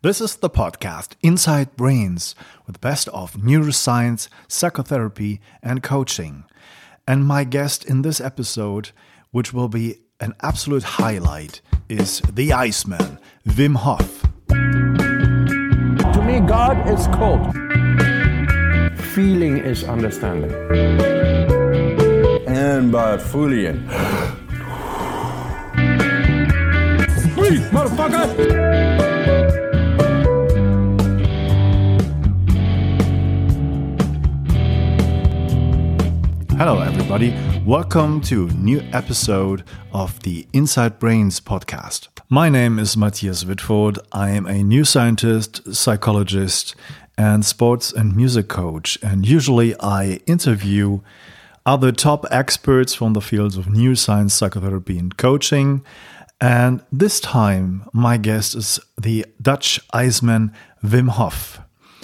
This is the podcast Inside Brains with the best of neuroscience, psychotherapy, and coaching. And my guest in this episode, which will be an absolute highlight, is the Iceman, Wim Hof. To me, God is cold. Feeling is understanding. And by Fulian. Breathe, motherfucker! Hello everybody, welcome to a new episode of the Inside Brains podcast. My name is Matthias Wittfurt. I am a neuroscientist, psychologist, and sports and music coach. And usually I interview other top experts from the fields of neuroscience, psychotherapy, and coaching. And this time my guest is the Dutch Iceman Wim Hof.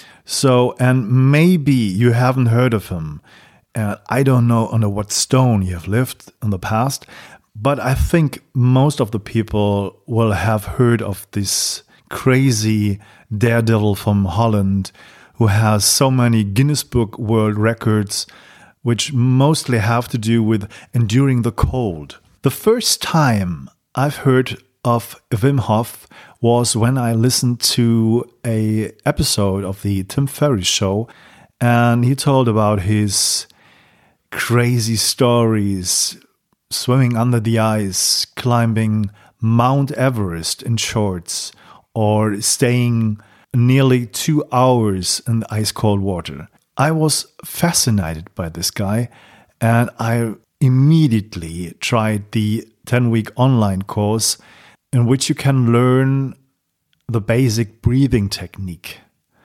And maybe you haven't heard of him. I don't know under what stone you have lived in the past, but I think most of the people will have heard of this crazy daredevil from Holland who has so many Guinness Book World Records, which mostly have to do with enduring the cold. The first time I've heard of Wim Hof was when I listened to an episode of the Tim Ferriss show, and he told about his crazy stories, swimming under the ice, climbing Mount Everest in shorts, or staying nearly 2 hours in the ice-cold water. I was fascinated by this guy, and I immediately tried the 10-week online course in which you can learn the basic breathing technique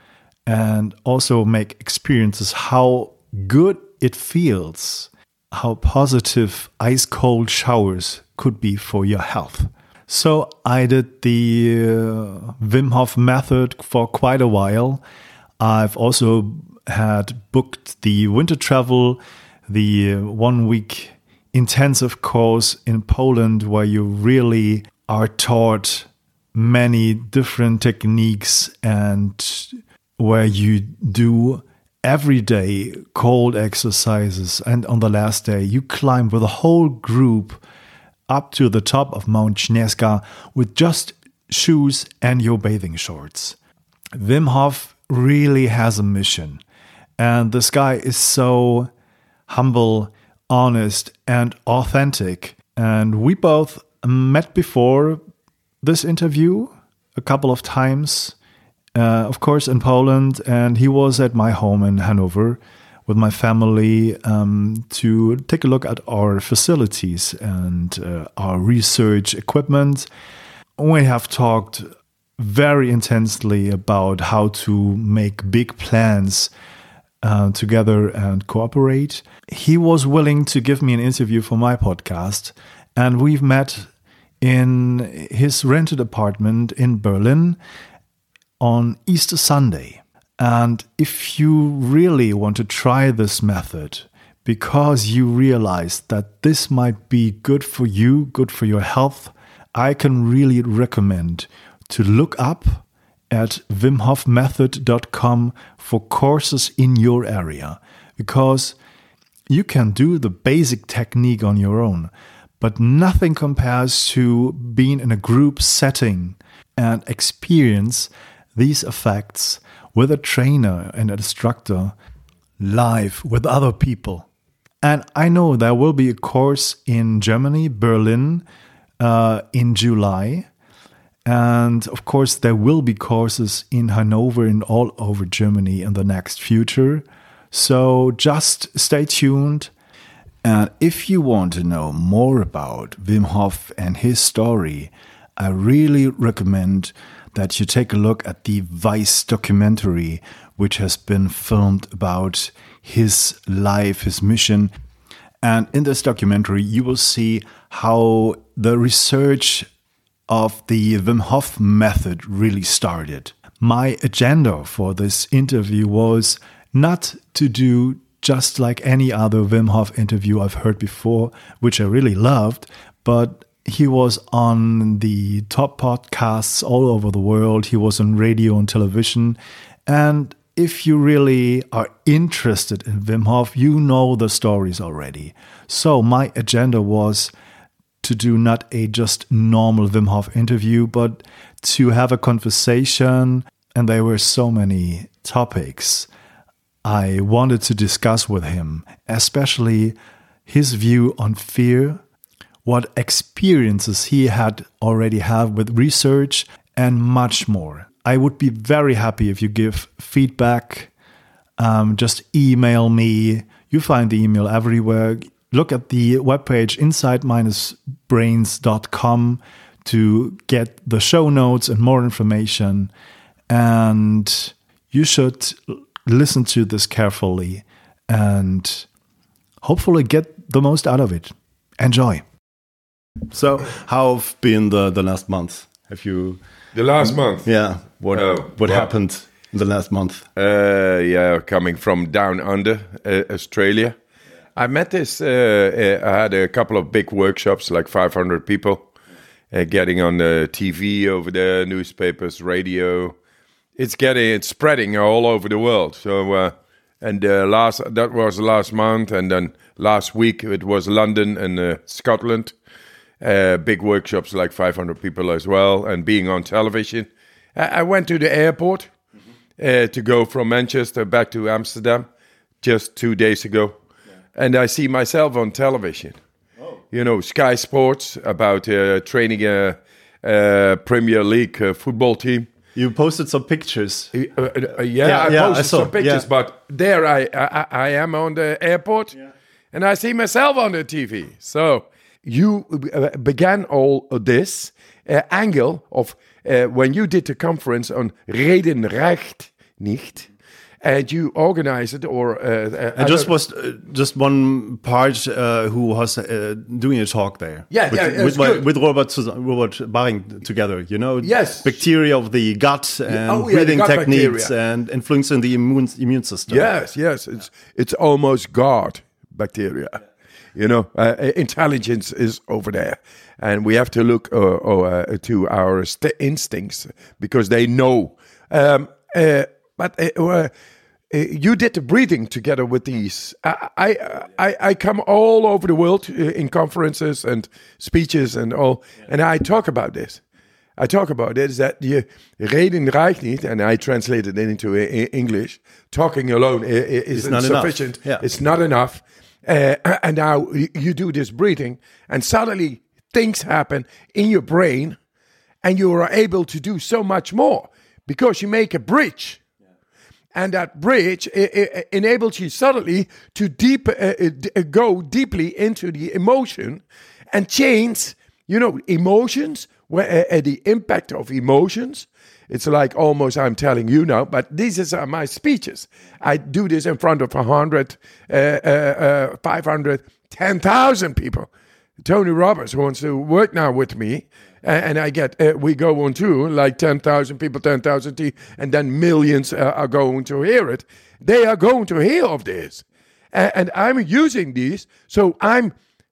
and also make experiences how good it feels, how positive ice-cold showers could be for your health. So I did the Wim Hof method for quite a while. I've also had booked the winter travel, the 1 week intensive course in Poland where you really are taught many different techniques and where you do everyday cold exercises, and on the last day you climb with a whole group up to the top of Mount Śnieżka with just shoes and your bathing shorts. Wim Hof really has a mission, and this guy is so humble, honest, and authentic. And we both met before this interview a couple of times. Of course, in Poland, and he was at my home in Hanover with my family to take a look at our facilities and our research equipment. We have talked very intensely about how to make big plans together and cooperate. He was willing to give me an interview for my podcast, and we've met in his rented apartment in Berlin on Easter Sunday. And if you really want to try this method because you realize that this might be good for you, good for your health, I can really recommend to look up at wimhofmethod.com for courses in your area, because you can do the basic technique on your own, but nothing compares to being in a group setting and experience these effects with a trainer and an instructor live with other people. And I know there will be a course in Germany, Berlin, in July. And of course, there will be courses in Hanover and all over Germany in the next future. So just stay tuned. And if you want to know more about Wim Hof and his story, I really recommend that you take a look at the Vice documentary, which has been filmed about his life, his mission. And in this documentary, you will see how the research of the Wim Hof method really started. My agenda for this interview was not to do just like any other Wim Hof interview I've heard before, which I really loved, but He was on the top podcasts all over the world. He was on radio and television. And if you really are interested in Wim Hof, you know the stories already. So my agenda was to do not a just normal Wim Hof interview, but to have a conversation. And there were so many topics I wanted to discuss with him, especially his view on fear, what experiences he had already had with research, and much more. I would be very happy if you give feedback. Just email me. You find the email everywhere. Look at the webpage inside-brains.com to get the show notes and more information. And you should listen to this carefully and hopefully get the most out of it. Enjoy. So, how have been the last month? Have you... The last month? Yeah. What happened in the last month? Coming from down under, Australia. I met this, I had a couple of big workshops, like 500 people, getting on the TV, over the newspapers, radio. It's spreading all over the world. So, that was last month, and then last week it was London and Scotland. Big workshops, like 500 people as well, and being on television. I went to the airport to go from Manchester back to Amsterdam just 2 days ago. Yeah. And I see myself on television. Oh. You know, Sky Sports, about training a Premier League football team. You posted some pictures. I posted some pictures, but there I am on the airport, and I see myself on the TV. So you began all of this angle of when you did the conference on Reden reicht nicht, and you organized it, or and was just one part who was doing a talk there. With Robert Baring together. You know, bacteria of the gut and breathing techniques bacteria. And influencing the immune system. Yes, it's almost God bacteria. You know, intelligence is over there, and we have to look to our instincts because they know. But you did the breathing together with these. I come all over the world in conferences and speeches and all, and I talk about this. I talk about it is that je reden reicht niet, and I translated it into English. Talking alone is insufficient. Yeah. It's not enough. And now you do this breathing, and suddenly things happen in your brain, and you are able to do so much more because you make a bridge. And that bridge enables you suddenly to go deeply into the emotion and change, emotions, where the impact of emotions. It's like almost I'm telling you now, but these are my speeches. I do this in front of 100, 500, 10,000 people. Tony Robbins wants to work now with me, and I get, we go on tour, like 10,000 people, 10,000, and then millions are going to hear it. They are going to hear of this. And I'm using these, so I'm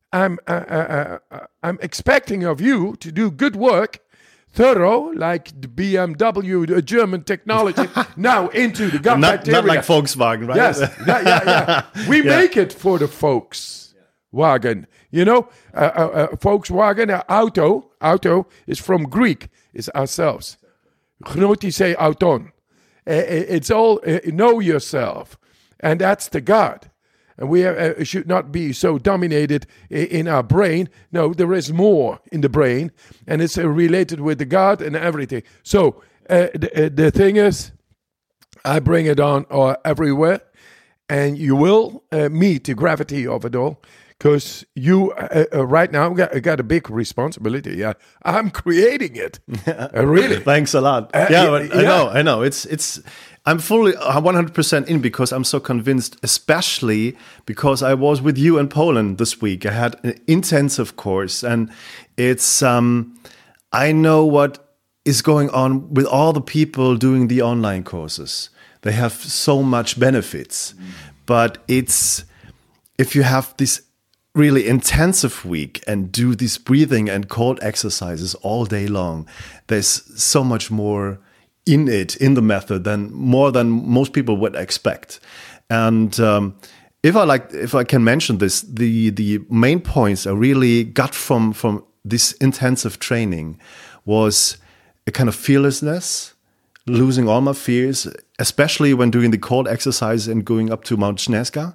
expecting of you to do good work, thorough, like the BMW, the German technology, now into the gut bacteria. Not like Volkswagen, right? Yes, We make it for the Volkswagen. You know, Volkswagen, auto is from Greek, it's ourselves. Gnotise auton. It's all, know yourself. And that's the God. And we should not be so dominated in our brain. No, there is more in the brain, and it's related with the God and everything. So the thing is, I bring it on everywhere, and you will meet the gravity of it all, because you right now got a big responsibility. Yeah, I'm creating it. Really. Thanks a lot. I know. It's. I'm fully 100% in because I'm so convinced, especially because I was with you in Poland this week. I had an intensive course, and it's, I know what is going on with all the people doing the online courses. They have so much benefits, but it's, if you have this really intensive week and do these breathing and cold exercises all day long, there's so much more in the method than most people would expect. And if I can mention this, the main points I really got from this intensive training was a kind of fearlessness, losing all my fears, especially when doing the cold exercise and going up to Mount Snezka.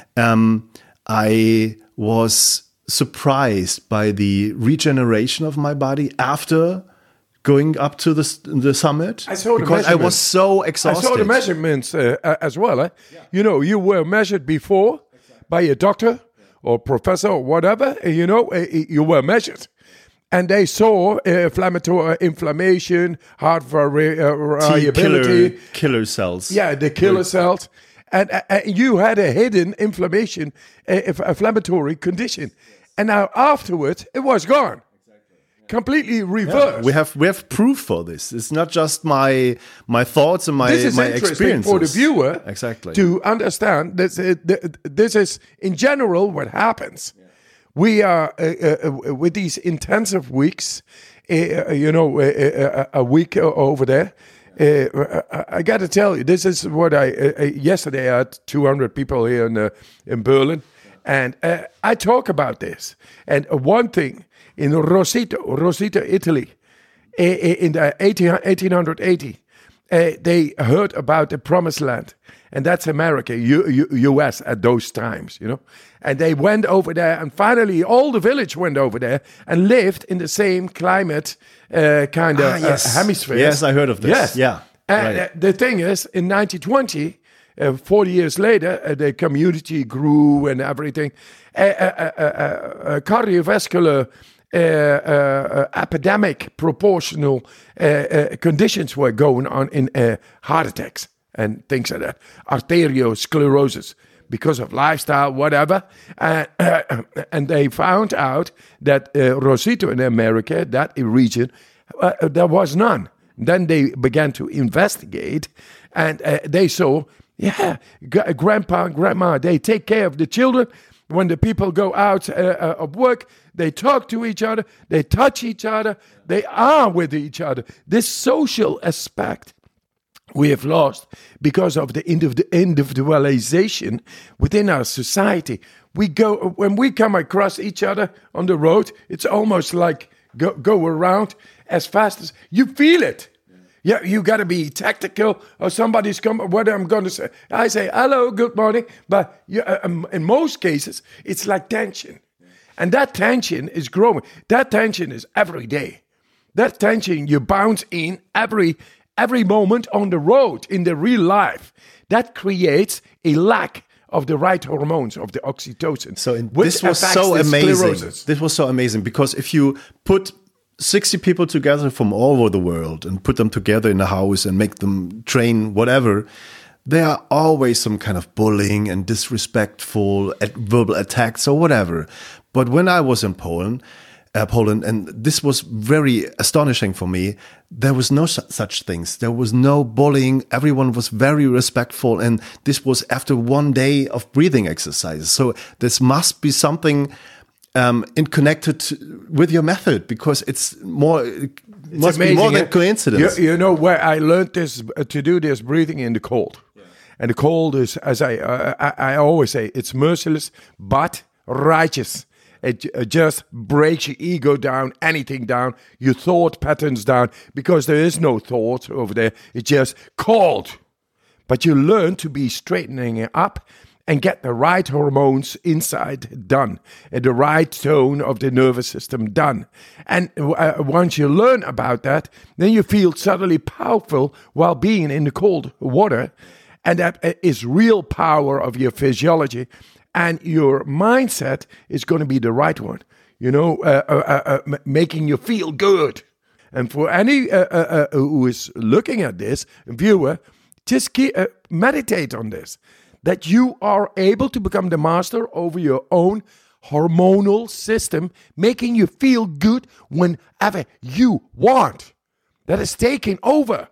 I was surprised by the regeneration of my body after going up to the summit. Because I was so exhausted. I saw the measurements as well. Yeah. You know, you were measured before by a doctor or professor or whatever. You know, you were measured. And they saw inflammation, heart variability. Killer cells. Yeah, the killer cells. And you had a hidden inflammatory condition. And now afterwards, it was gone. Completely reversed. Yeah, we have proof for this. It's not just my thoughts and my experiences. This is interesting for the viewer to understand that this is, in general, what happens. Yeah. We are, with these intensive weeks, a week over there, I got to tell you, this is what yesterday I had 200 people here in Berlin, and I talk about this. And one thing, in Rossito, Italy, in the 1880, they heard about the Promised Land, and that's America, U.S. at those times, you know. And they went over there, and finally all the village went over there and lived in the same climate hemisphere. Yes, I heard of this. Yes. Yeah. And the thing is, in 1920, 40 years later, the community grew and everything. Cardiovascular epidemic proportional conditions were going on in heart attacks and things like that, arteriosclerosis, because of lifestyle, whatever. And they found out that Rossito in America, that region, there was none. Then they began to investigate, and they saw, grandpa and grandma, they take care of the children. When the people go out of work, they talk to each other, they touch each other, they are with each other. This social aspect we have lost because of the individualization within our society. When we come across each other on the road, it's almost like go around as fast as you feel it. Yeah, you got to be tactical, or somebody's coming. What I'm going to say, I say hello, good morning. But in most cases, it's like tension, and that tension is growing. That tension is every day. That tension you bounce in every moment on the road in the real life. That creates a lack of the right hormones of the oxytocin. So this was so amazing. Sclerosis. This was so amazing because if you put 60 people together from all over the world and put them together in a house and make them train whatever, there are always some kind of bullying and disrespectful verbal attacks or whatever. But when I was in Poland, and this was very astonishing for me, there was no such things. There was no bullying. Everyone was very respectful. And this was after one day of breathing exercises. So this must be something connected with your method, because it's must be more than coincidence. You know where I learned this to do this breathing in the cold, and the cold is, as I always say, it's merciless but righteous. It just breaks your ego down, anything down, your thought patterns down, because there is no thought over there. It's just cold, but you learn to be straightening it up and get the right hormones inside done, and the right tone of the nervous system done. And once you learn about that, then you feel suddenly powerful while being in the cold water. And that is real power of your physiology. And your mindset is going to be the right one, you know, making you feel good. And for any who is looking at this, viewer, just meditate on this. That you are able to become the master over your own hormonal system, making you feel good whenever you want. That is taking over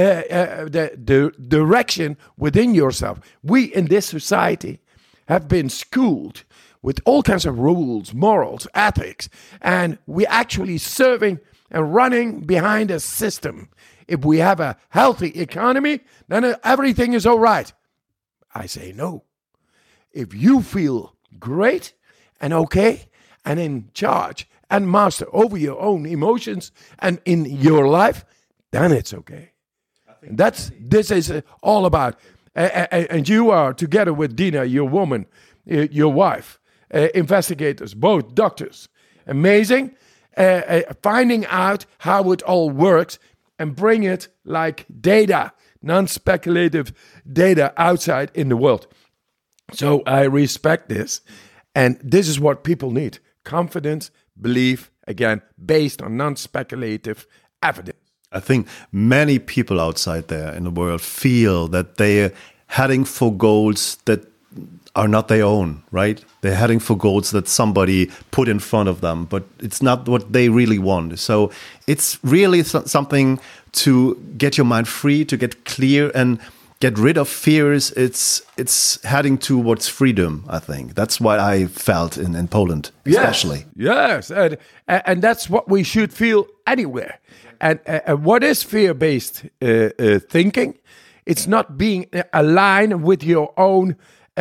the direction within yourself. We in this society have been schooled with all kinds of rules, morals, ethics, and we're actually serving and running behind a system. If we have a healthy economy, then everything is all right. I say no. If you feel great and okay and in charge and master over your own emotions and in your life, then it's okay. This is all about. And you are together with Dina, your woman, your wife, investigators, both doctors. Amazing. Finding out how it all works and bring it like data, non-speculative data outside in the world. So I respect this. And this is what people need. Confidence, belief, again, based on non-speculative evidence. I think many people outside there in the world feel that they're heading for goals that are not their own, right? They're heading for goals that somebody put in front of them, but it's not what they really want. So it's really something to get your mind free, to get clear and get rid of fears. It's heading towards freedom, I think. That's what I felt in Poland, especially. Yes. And that's what we should feel anywhere. And what is fear-based thinking? It's not being aligned with your own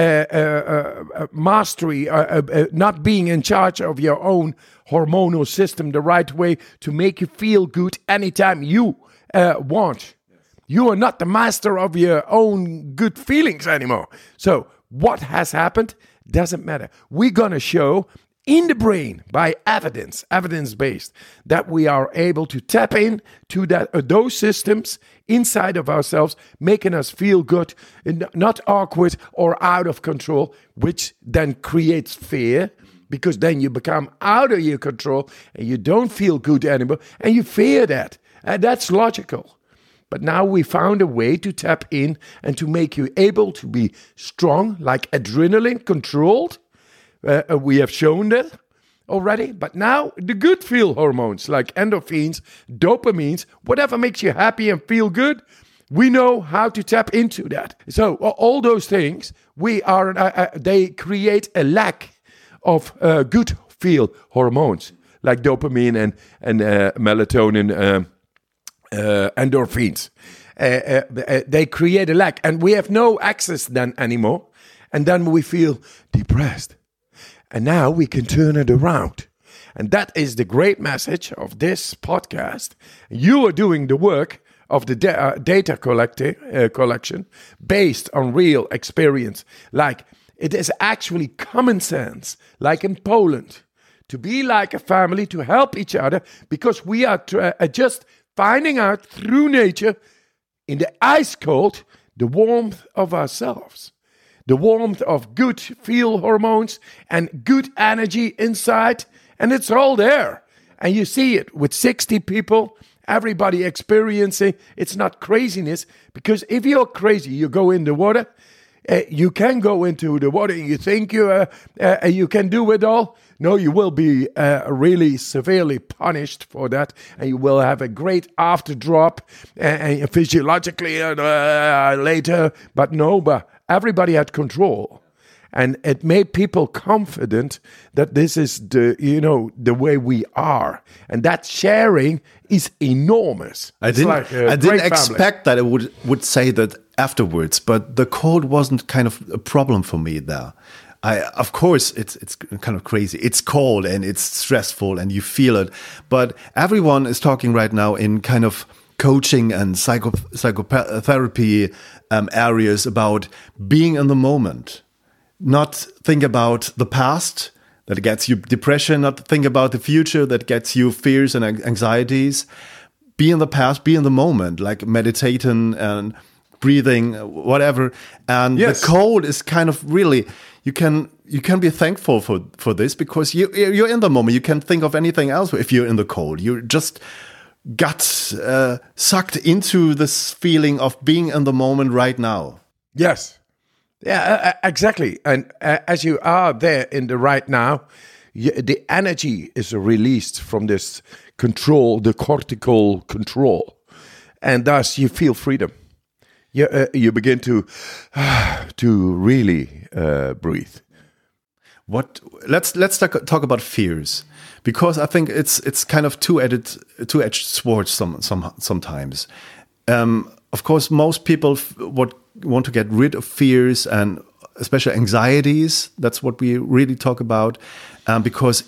mastery, not being in charge of your own hormonal system the right way to make you feel good anytime you want. You are not the master of your own good feelings anymore. So what has happened doesn't matter. We're going to show in the brain by evidence-based, that we are able to tap in to those systems inside of ourselves, making us feel good, and not awkward or out of control, which then creates fear, because then you become out of your control and you don't feel good anymore, and you fear that. And that's logical. But now we found a way to tap in and to make you able to be strong, like adrenaline controlled. We have shown that already. But now the good feel hormones like endorphins, dopamines, whatever makes you happy and feel good, we know how to tap into that. So all those things, they create a lack of good feel hormones like dopamine and melatonin, endorphins. They create a lack, and we have no access then anymore. And then we feel depressed. And now we can turn it around. And that is the great message of this podcast. You are doing the work of the data collection based on real experience. Like it is actually common sense, like in Poland, to be like a family, to help each other, because we are just finding out through nature, in the ice cold, the warmth of ourselves. The warmth of good feel hormones and good energy inside. And it's all there. And you see it with 60 people, everybody experiencing. It's not craziness. Because if you're crazy, you go in the water. You can go into the water and you think you can do it all. No, you will be really severely punished for that. And you will have a great after drop physiologically later. But everybody had control, and it made people confident that this is the way we are, and that sharing is enormous. I didn't expect that it would say that afterwards, but the cold wasn't kind of a problem for me there. Of course, it's kind of crazy. It's cold and it's stressful, and you feel it. But everyone is talking right now in kind of coaching and psychotherapy areas about being in the moment, not think about the past that gets you depression, not think about the future that gets you fears and anxieties. Be in the past, be in the moment, like meditating and breathing, whatever. And the cold is kind of really, you can be thankful for this, because you're in the moment. You can't think of anything else if you're in the cold. You're just got sucked into this feeling of being in the moment right now. Yes. Yeah, exactly. And as you are there in the right now, the energy is released from this control, the cortical control. And thus you feel freedom. You begin to really breathe. let's talk about fears, because I think it's kind of two-edged swords sometimes. Of course, most people want to get rid of fears and especially anxieties. That's what we really talk about, because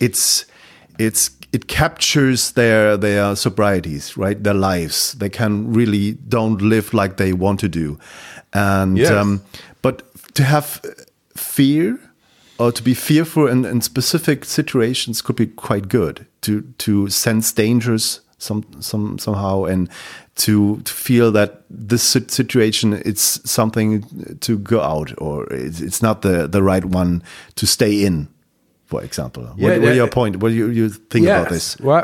it captures their sobrieties, right? Their lives. They can really don't live like they want to do, and but to have fear or to be fearful in specific situations could be quite good. To sense dangers somehow, and to feel that this situation it's something to go out, or it's not the right one to stay in. For example, what are your point? What do you think about this? Well,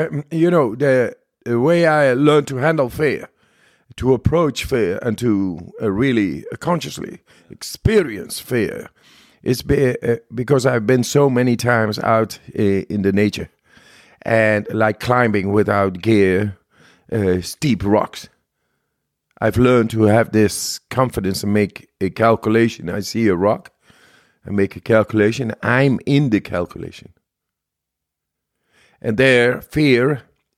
the way I learned to handle fear, to approach fear, and to really consciously experience fear, is because I've been so many times out in the nature, and like climbing without gear, steep rocks. I've learned to have this confidence and make a calculation. I see a rock. I make a calculation. I'm in the calculation, and there, fear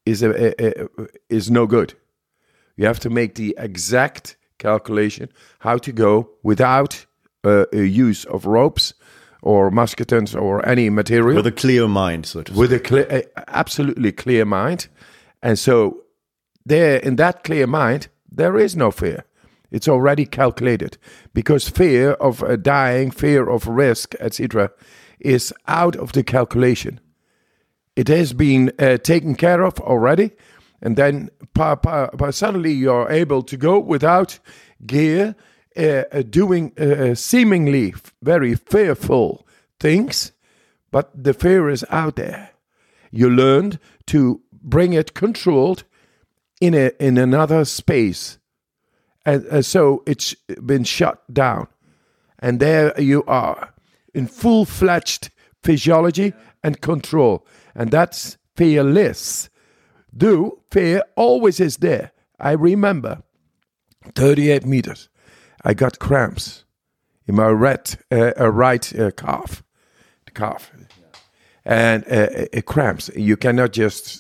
is no good. You have to make the exact calculation how to go without use of ropes or musketons or any material. With a clear mind, so to speak. With a absolutely clear mind, and so there, in that clear mind, there is no fear. It's already calculated, because fear of dying, fear of risk, etc., is out of the calculation. It has been taken care of already, and then suddenly you're able to go without gear, doing seemingly very fearful things, but the fear is out there. You learned to bring it controlled in another space. And so it's been shut down. And there you are, in full-fledged physiology and control. And that's fearless. Though fear always is there. I remember 38 meters. I got cramps in my right calf. The calf. And cramps. You cannot just...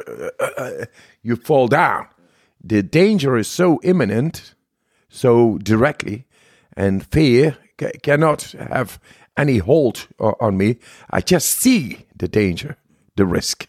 you fall down. The danger is so imminent, so directly, and fear cannot have any hold on me. I just see the danger, the risk.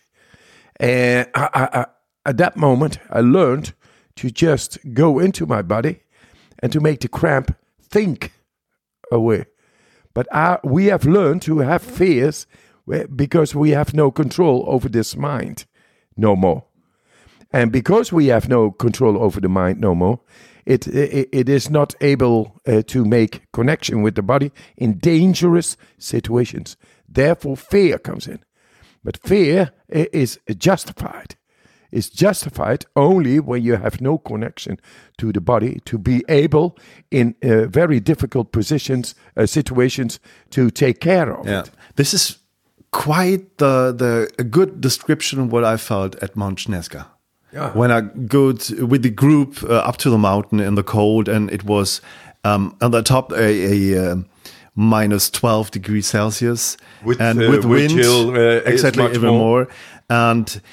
And at that moment, I learned to just go into my body and to make the cramp think away. But we have learned to have fears because we have no control over this mind no more. And because we have no control over the mind no more, it is not able to make connection with the body in dangerous situations. Therefore, fear comes in. But fear is justified. It's justified only when you have no connection to the body to be able, in very difficult situations, to take care of it. This is quite a good description of what I felt at Mount Snežka. Yeah. When I go with the group up to the mountain in the cold, and it was on the top a minus 12 degrees Celsius, with wind chill, exactly, even more. And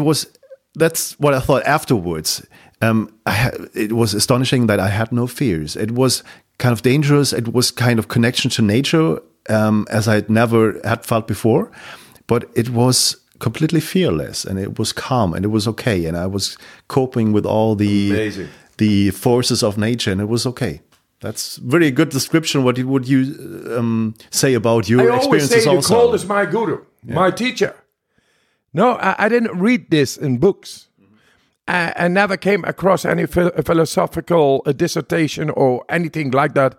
that's what I thought afterwards. It was astonishing that I had no fears. It was kind of dangerous. It was kind of connection to nature, as I never had felt before, but it was completely fearless, and it was calm, and it was okay, and I was coping with all the forces of nature, and it was okay. That's very good description. What would you say about your experiences? I always say also? the cold is my guru, my teacher. No, I didn't read this in books. I never came across any philosophical dissertation or anything like that,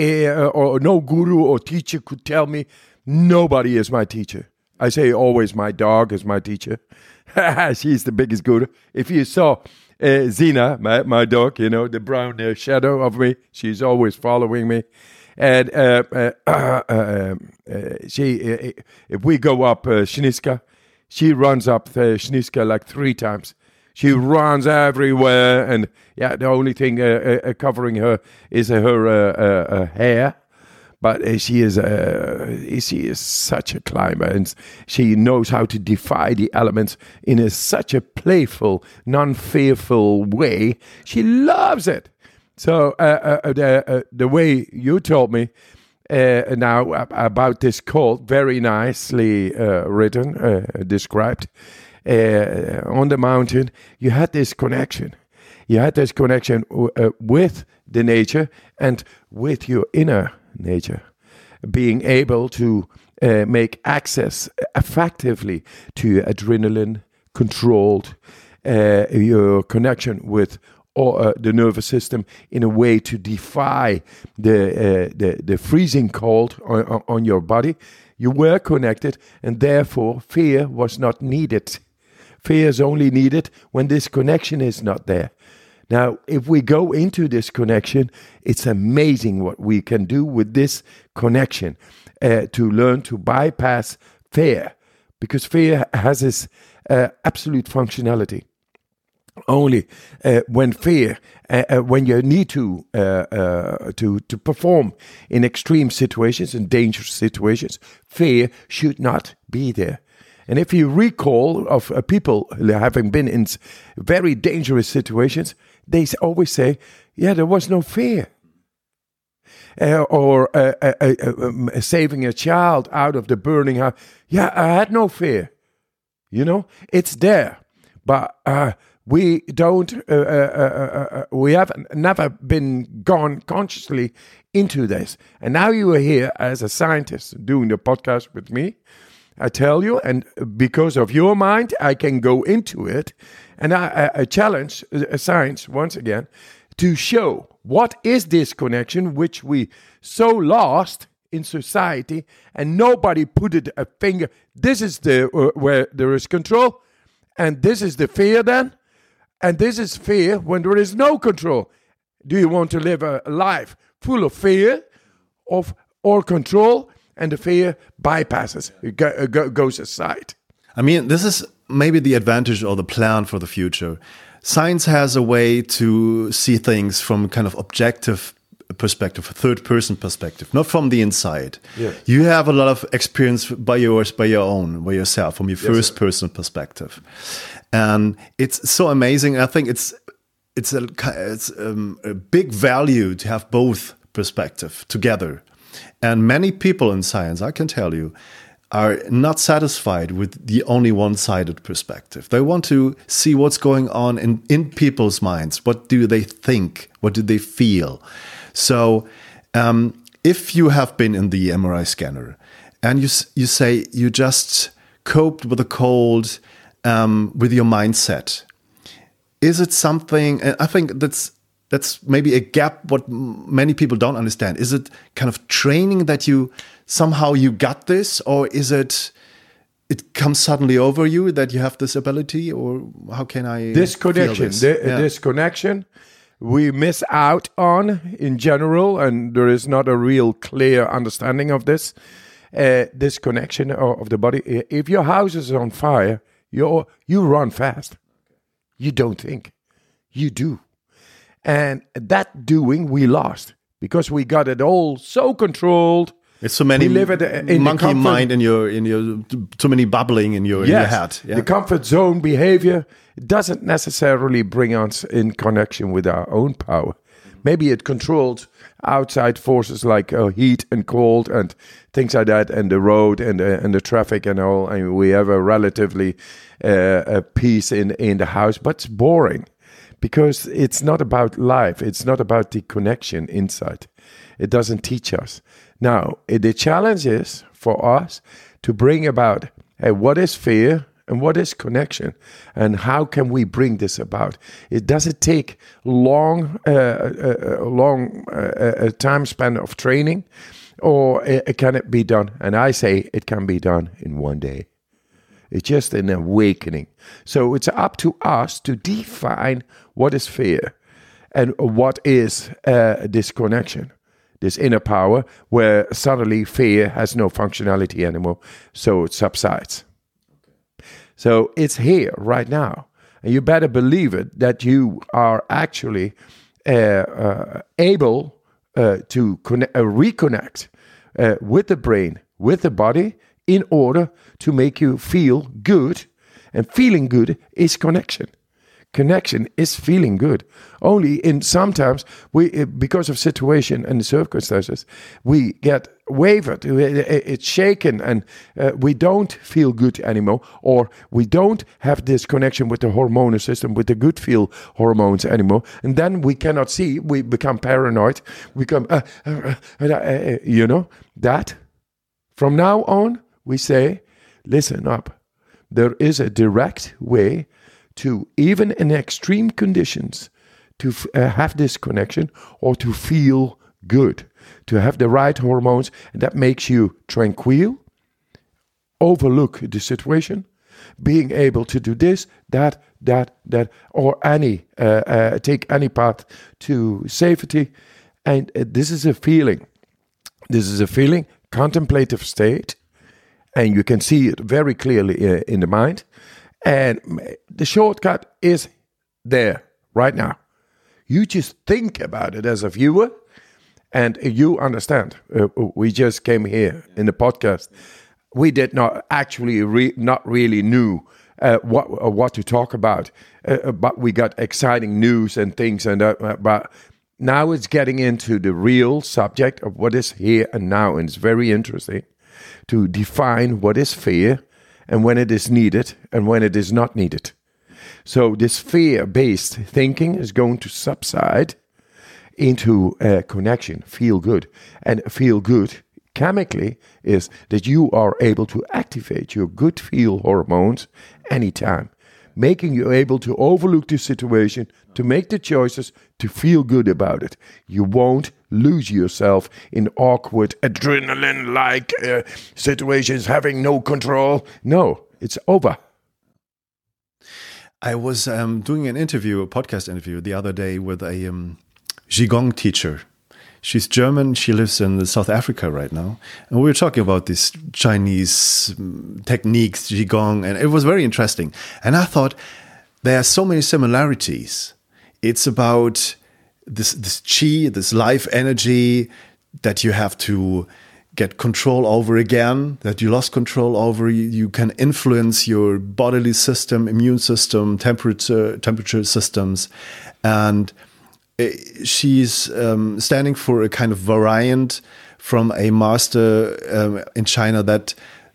or no guru or teacher could tell me. Nobody is my teacher. I say always my dog is my teacher. She's the biggest guru. If you saw Zina, my dog, the brown shadow of me, she's always following me. And she, if we go up Snežka, she runs up Snežka like 3 times. She runs everywhere, and the only thing covering her is her hair. But she is such a climber, and she knows how to defy the elements in such a playful, non-fearful way. She loves it. So the way you told me now about this cold, very nicely written, described, on the mountain, you had this connection. You had this connection with the nature and with your inner nature, being able to make access effectively to adrenaline, controlled your connection with the nervous system in a way to defy the freezing cold on your body. You were connected, and therefore fear was not needed. Fear is only needed when this connection is not there. Now, if we go into this connection, it's amazing what we can do with this connection to learn to bypass fear, because fear has this absolute functionality. Only when fear, when you need to perform in extreme situations and dangerous situations, fear should not be there. And if you recall of people having been in very dangerous situations, they always say, yeah, there was no fear. Or saving a child out of the burning house. Yeah, I had no fear. You know, it's there. But we don't, we have never been gone consciously into this. And now you are here as a scientist doing the podcast with me. I tell you, and because of your mind, I can go into it. And I challenge science once again to show what is this connection which we so lost in society, and nobody put it a finger. This is the where there is control, and this is the fear then, and this is fear when there is no control. Do you want to live a life full of fear or control? And the fear bypasses, it goes aside. I mean, this is maybe the advantage or the plan for the future. Science has a way to see things from kind of objective perspective, a third-person perspective, not from the inside. Yeah. You have a lot of experience by yourself, from your first-person perspective, and it's so amazing. I think it's a big value to have both perspective together. And many people in science, I can tell you, are not satisfied with the only one-sided perspective. They want to see what's going on in people's minds. What do they think? What do they feel? So if you have been in the MRI scanner and you say you just coped with a cold with your mindset, is it something, and I think that's maybe a gap what many people don't understand. Is it kind of training that you somehow you got this, or is it comes suddenly over you that you have this ability, or how can I this connection this connection we miss out on in general, and there is not a real clear understanding of this connection of the body. If your house is on fire, you run fast. You don't think, you do. And that doing we lost because we got it all so controlled. It's so many monkey mind in your too many bubbling in your head. Yeah. The comfort zone behavior doesn't necessarily bring us in connection with our own power. Maybe it controls outside forces like heat and cold and things like that, and the road and the traffic and all. And we have a relatively peace in the house, but it's boring. Because it's not about life. It's not about the connection inside. It doesn't teach us. Now, the challenge is for us to bring about what is fear and what is connection, and how can we bring this about? It doesn't take long time span of training, or can it be done? And I say it can be done in one day. It's just an awakening. So it's up to us to define what is fear and what is this connection, this inner power, where suddenly fear has no functionality anymore, so it subsides. Okay. So it's here right now. And you better believe it that you are actually able to reconnect with the brain, with the body, in order to make you feel good. And feeling good is connection. Connection is feeling good. Only in sometimes we, because of situation and the circumstances, we get wavered. It's shaken, and we don't feel good anymore, or we don't have this connection with the hormonal system, with the good feel hormones anymore. And then we cannot see. We become paranoid. We become, that. From now on, we say, listen up. There is a direct way to, even in extreme conditions, to have this connection or to feel good, to have the right hormones, and that makes you tranquil, overlook the situation, being able to do this, that, or take any path to safety. And this is a feeling. This is a feeling, contemplative state, and you can see it very clearly in the mind. And the shortcut is there right now. You just think about it as a viewer, and you understand. We just came here in the podcast. We did not actually not really knew what to talk about, but we got exciting news and things. And but now it's getting into the real subject of what is here and now, and it's very interesting to define what is fear, and when it is needed, and when it is not needed. So this fear-based thinking is going to subside into connection, feel good. And feel good, chemically, is that you are able to activate your good feel hormones anytime, making you able to overlook the situation, to make the choices, to feel good about it. You won't lose yourself in awkward, adrenaline-like situations, having no control. No, it's over. I was doing a podcast interview the other day with a Qigong teacher. She's German. She lives in South Africa right now. And we were talking about these Chinese techniques, Qigong, and it was very interesting. And I thought there are so many similarities. It's about this qi, this life energy that you have to get control over again, that you lost control over. You can influence your bodily system, immune system, temperature systems. And she's standing for a kind of variant from a master in China that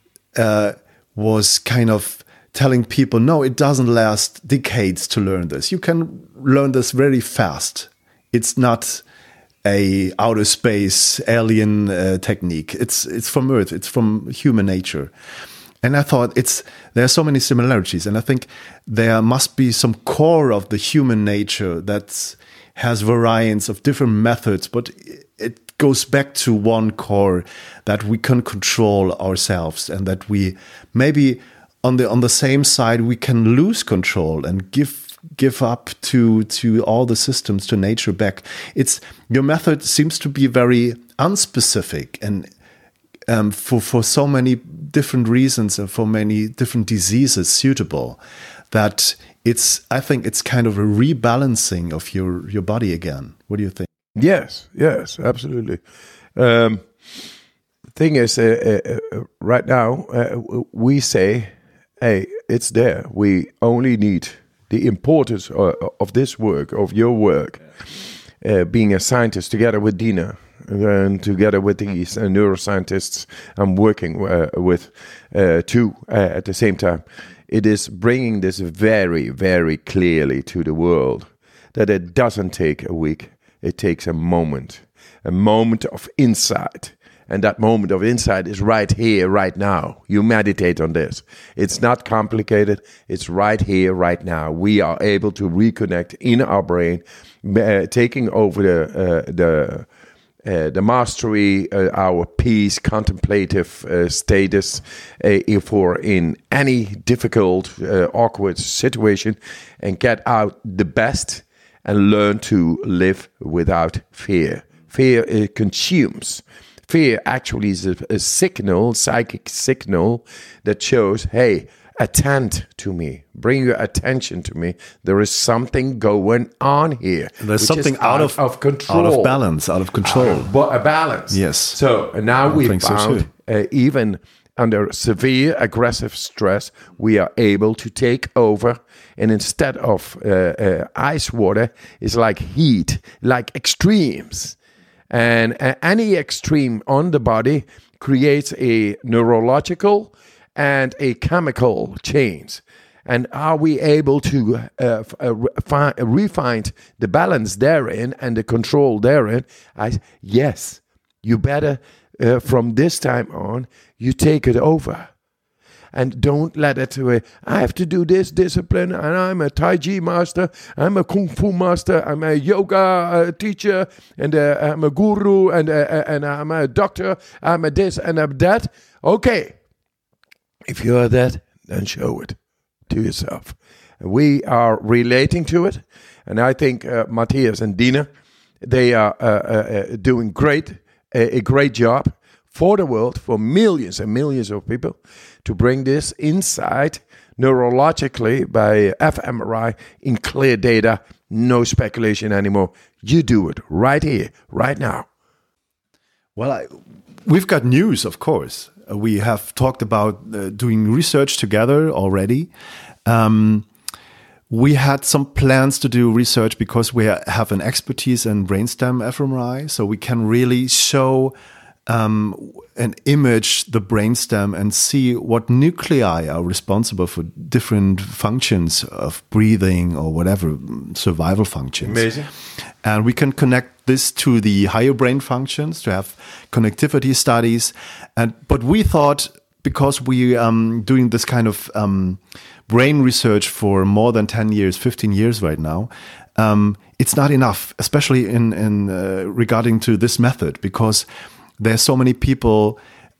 was kind of telling people, no, it doesn't last decades to learn this. You can learn this very fast. It's not a outer space alien technique. It's from Earth. It's from human nature. And I thought there are so many similarities. And I think there must be some core of the human nature that has variants of different methods, but it goes back to one core, that we can control ourselves, and that we maybe on the same side we can lose control and give up to all the systems, to nature back. Your method seems to be very unspecific, and for so many different reasons and for many different diseases suitable, that I think it's kind of a rebalancing of your body again. What do you think? Yes, absolutely. The thing is, right now, we say, hey, it's there. We only need the importance of this work, of your work, being a scientist together with Dina and together with these neuroscientists I'm working with too at the same time. It is bringing this very, very clearly to the world that it doesn't take a week. It takes a moment of insight. And that moment of insight is right here, right now. You meditate on this. It's not complicated. It's right here, right now. We are able to reconnect in our brain, taking over the mastery, our peace, contemplative status for in any difficult, awkward situation, and get out the best and learn to live without fear. Fear consumes. Fear actually is a signal, psychic signal, that shows, hey, attend to me, bring your attention to me. There is something going on here. There's something out of control, out of balance, out of control. But a balance. Yes. So now we found even under severe aggressive stress, we are able to take over. And instead of ice water, it's like heat, like extremes. And any extreme on the body creates a neurological and a chemical change. And are we able to refine the balance therein and the control therein? Yes, you better, from this time on, you take it over. And don't let it, I have to do this discipline, and I'm a Tai Chi master, I'm a Kung Fu master, I'm a yoga teacher, and I'm a guru, and I'm a doctor, I'm a this and I'm that. Okay, if you are that, then show it to yourself. We are relating to it, and I think Matthias and Dina, they are doing a great job for the world, for millions and millions of people, to bring this insight neurologically by fMRI in clear data, no speculation anymore. You do it right here, right now. Well, we've got news, of course. We have talked about doing research together already. We had some plans to do research because we have an expertise in brainstem fMRI, so we can really show and image the brainstem and see what nuclei are responsible for different functions of breathing or whatever, survival functions. Amazing. And we can connect this to the higher brain functions to have connectivity studies. But we thought, because we doing this kind of brain research for more than 10 years, 15 years right now, it's not enough, especially in regarding to this method, because there's so many people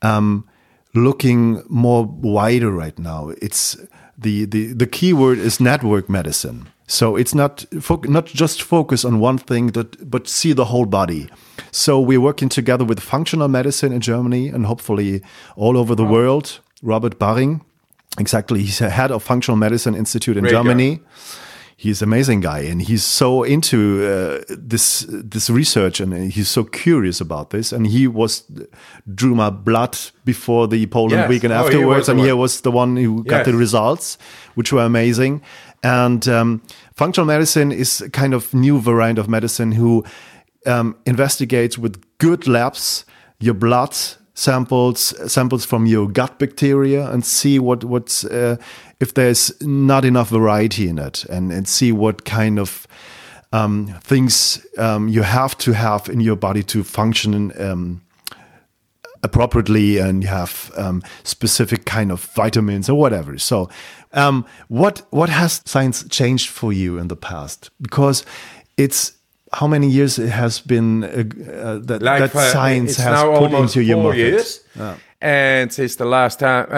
looking more wider right now. It's the key word is network medicine. So it's not just focus on one thing, but see the whole body. So we're working together with functional medicine in Germany and hopefully all over the world. Robert Baring, exactly, he's the head of Functional Medicine Institute in Germany. He's an amazing guy, and he's so into this research, and he's so curious about this. And he drew my blood before the Poland week and afterwards, and he was the one who got the results, which were amazing. And functional medicine is a kind of new variant of medicine who investigates with good labs your blood samples from your gut bacteria, and see what's if there's not enough variety in it, and see what kind of things you have to have in your body to function appropriately, and you have specific kind of vitamins or whatever. So what has science changed for you in the past? Because it's how many years it has been that science has put into your market? Years. Yeah. And since the last time,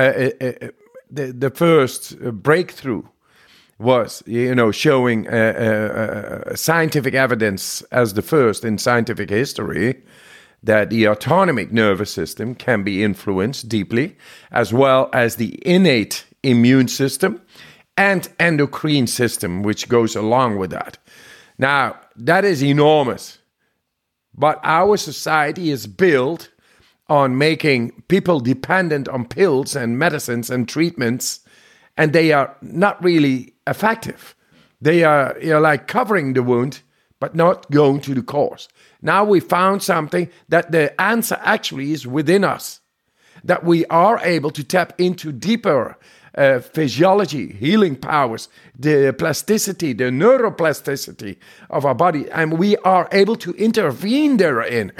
the first breakthrough was, showing scientific evidence as the first in scientific history that the autonomic nervous system can be influenced deeply, as well as the innate immune system and endocrine system, which goes along with that. Now, that is enormous. But our society is built on making people dependent on pills and medicines and treatments, and they are not really effective. They are like covering the wound, but not going to the cause. Now we found something that the answer actually is within us, that we are able to tap into deeper physiology, healing powers, the plasticity, the neuroplasticity of our body, and we are able to intervene therein.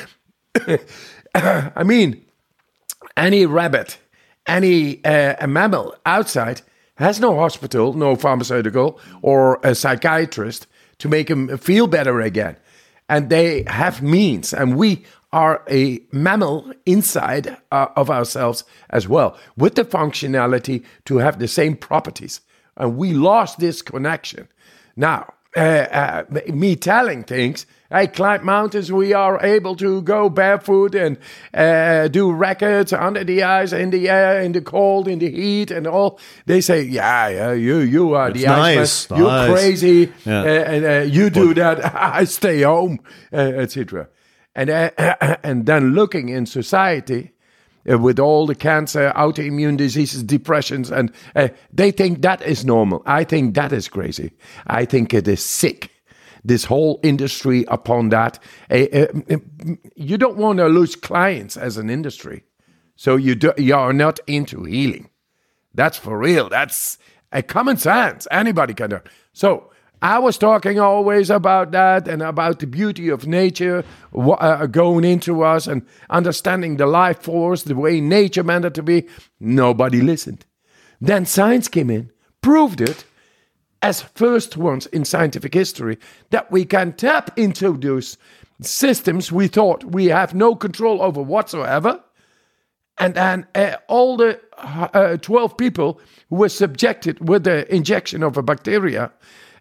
I mean, any rabbit, any a mammal outside has no hospital, no pharmaceutical, or a psychiatrist to make him feel better again. And they have means, and we are a mammal inside of ourselves as well, with the functionality to have the same properties. And we lost this connection. Now, me telling things. I climb mountains. We are able to go barefoot and do records under the ice, in the air, in the cold, in the heat, and all. They say, "Yeah, you are the nice, Iceman. You're crazy, Yeah. and you do that. I stay home, etc." And then looking in society. With all the cancer, autoimmune diseases, depressions, and they think that is normal. I think that is crazy. I think it is sick. This whole industry upon that. You don't want to lose clients as an industry. So you are not into healing. That's for real. That's a common sense. Anybody can do it. So I was talking always about that and about the beauty of nature going into us and understanding the life force, the way nature meant it to be. Nobody listened. Then science came in, proved it, as first ones in scientific history, that we can tap into those systems we thought we have no control over whatsoever. And then all the 12 people who were subjected with the injection of a bacteria,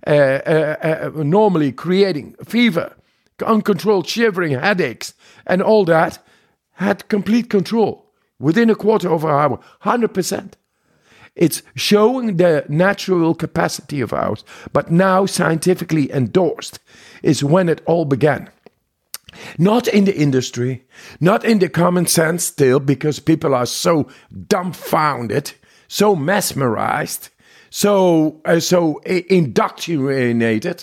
normally creating fever, uncontrolled shivering, headaches, and all that, had complete control within a quarter of an hour, 100%. It's showing the natural capacity of ours, but now scientifically endorsed is when it all began. Not in the industry, not in the common sense still, because people are so dumbfounded, so mesmerized, so indoctrinated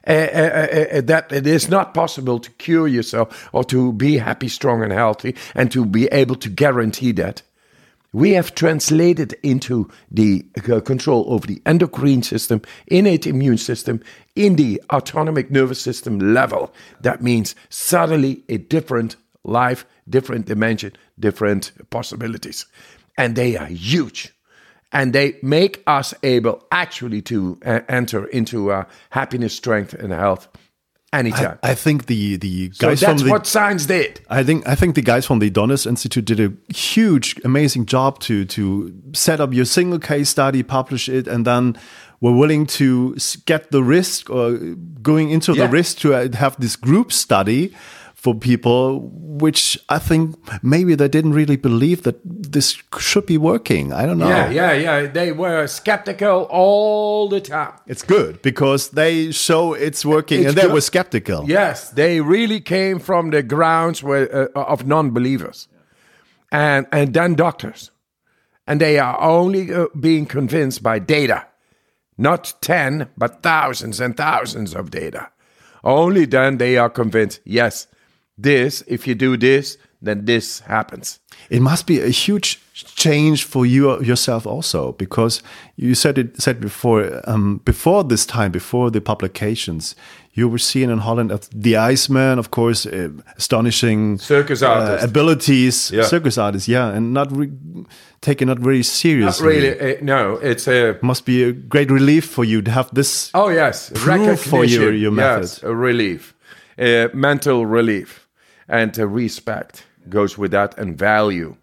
that it is not possible to cure yourself or to be happy, strong, and healthy, and to be able to guarantee that. We have translated into the control over the endocrine system, innate immune system, in the autonomic nervous system level. That means suddenly a different life, different dimension, different possibilities. And they are huge. And they make us able actually to enter into happiness, strength, and health anytime. I think the guys so that's from the, what science did. I think the guys from the Adonis Institute did a huge, amazing job to set up your single case study, publish it, and then were willing to get the risk or going into the risk to have this group study for people, which I think maybe they didn't really believe that this should be working. I don't know. Yeah. They were skeptical all the time. It's good because they show it's working, and they were skeptical. Yes, they really came from the grounds of non-believers, and then doctors, and they are only being convinced by data, not 10 but thousands and thousands of data. Only then they are convinced. Yes. This, if you do this, then this happens. It must be a huge change for you yourself also, because you said before, before the publications, you were seen in Holland as the Iceman, of course, astonishing circus artist abilities, circus artist, and not taken not very seriously. Not really, no. It's must be a great relief for you to have this. Oh yes, proof for your method. Yes, a relief, mental relief. And respect goes with that, and value.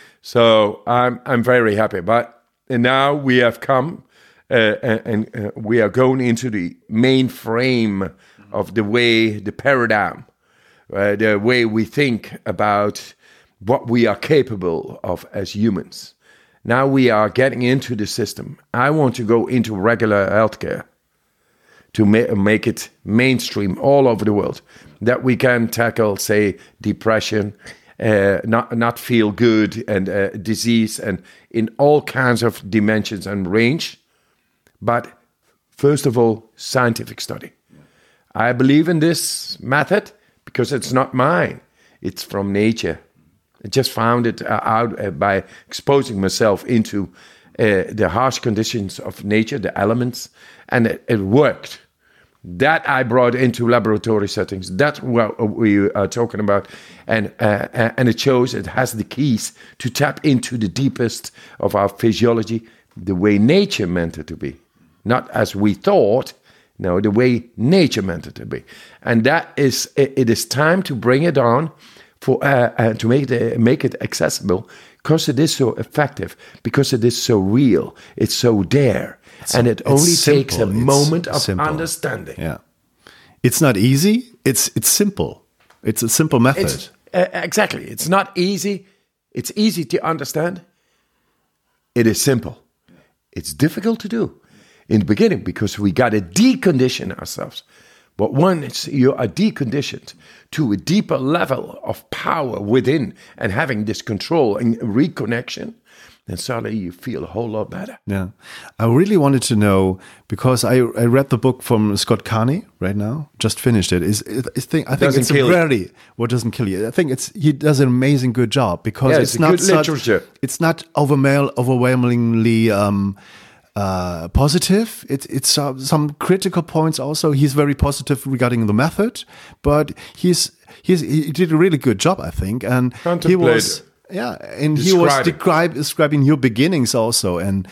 So I'm very happy. But now we have come, and we are going into the main frame of the paradigm, the way we think about what we are capable of as humans. Now we are getting into the system. I want to go into regular healthcare to make it mainstream all over the world, that we can tackle, say, depression, not feel good, and disease, and in all kinds of dimensions and range. But first of all, scientific study. I believe in this method because it's not mine. It's from nature. I just found it out by exposing myself into the harsh conditions of nature, the elements, and it worked. That I brought into laboratory settings. That's what we are talking about. And it shows it has the keys to tap into the deepest of our physiology, the way nature meant it to be. Not as we thought, no, the way nature meant it to be. And that is, it is time to bring it on for to make it accessible because it is so effective, because it is so real, it's so there. And it only takes a moment of understanding. Yeah. It's not easy, it's simple. It's a simple method. Exactly. It's not easy. It's easy to understand. It is simple. It's difficult to do in the beginning because we got to decondition ourselves. But once you are deconditioned to a deeper level of power within and having this control and reconnection, then suddenly you feel a whole lot better. Yeah. I really wanted to know, because I read the book from Scott Carney right now, just finished it. I think it's rarely what doesn't kill you. I think he does an amazing good job because it's not literature. It's not overwhelmingly positive. It's some critical points also. He's very positive regarding the method, but he did a really good job, I think. And he was describing your beginnings also, and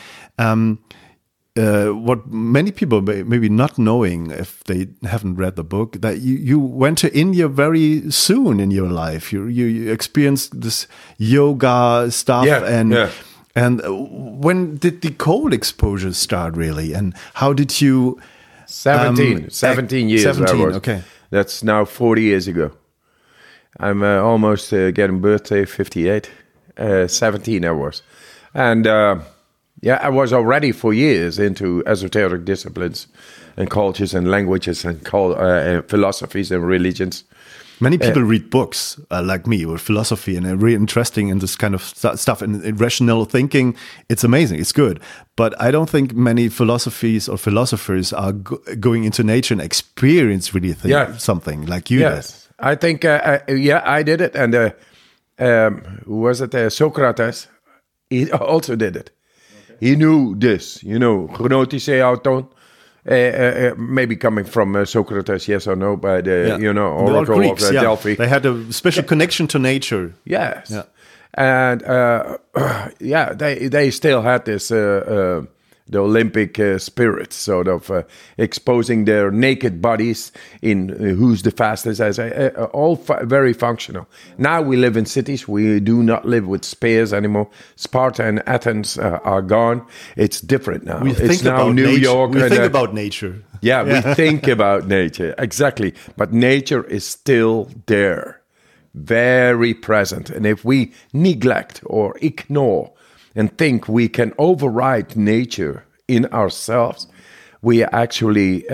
what many people maybe not knowing if they haven't read the book, that you went to India very soon in your life. You experienced this yoga stuff, and when did the cold exposure start really, and how did you? 17 years. 17, okay. That's now 40 years ago. I'm almost getting birthday 58. 17 I was. And I was already for years into esoteric disciplines and cultures and languages and philosophies and religions. Many people read books like me with philosophy and are really interesting in this kind of stuff and rational thinking. It's amazing. It's good. But I don't think many philosophies or philosophers are going into nature and experience really something like you did. I think, I did it. And who was it? Socrates, he also did it. Okay. He knew this, gnotische auton. Maybe coming from Socrates, yes or no, by the oracle Greeks, of Delphi. They had a special connection to nature. Yes, and they still had this the Olympic spirit, sort of exposing their naked bodies in who's the fastest, as all very functional. Now we live in cities. We do not live with spears anymore. Sparta and Athens are gone. It's different now. It's now New York. We think about nature. Yeah, we think about nature. Exactly. But nature is still there, very present. And if we neglect or ignore and think we can override nature in ourselves, we are actually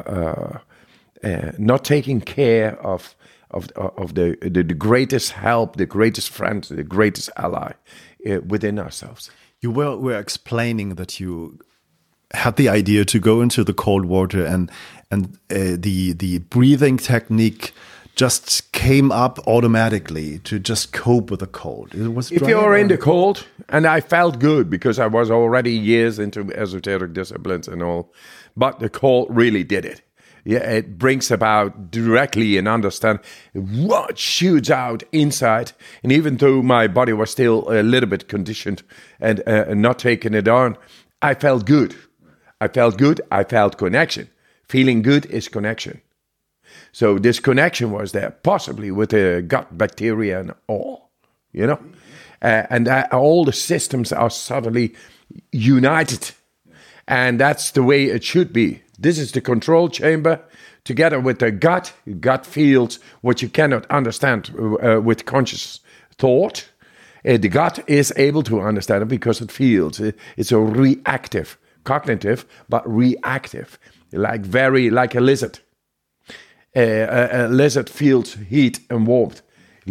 not taking care of the greatest help, the greatest friend, the greatest ally within ourselves. You were explaining that you had the idea to go into the cold water, and the breathing technique just came up automatically to just cope with the cold. If you're in the cold, and I felt good because I was already years into esoteric disciplines and all, but the cold really did it. Yeah, it brings about directly an understanding what shoots out inside. And even though my body was still a little bit conditioned and not taking it on, I felt good. I felt connection. Feeling good is connection. So this connection was there, possibly with the gut bacteria and all, and all the systems are suddenly united. And that's the way it should be. This is the control chamber together with the gut. Gut feels what you cannot understand with conscious thought. The gut is able to understand it because it feels. It's a reactive, cognitive, but reactive, like a lizard. A lizard feels heat and warmth.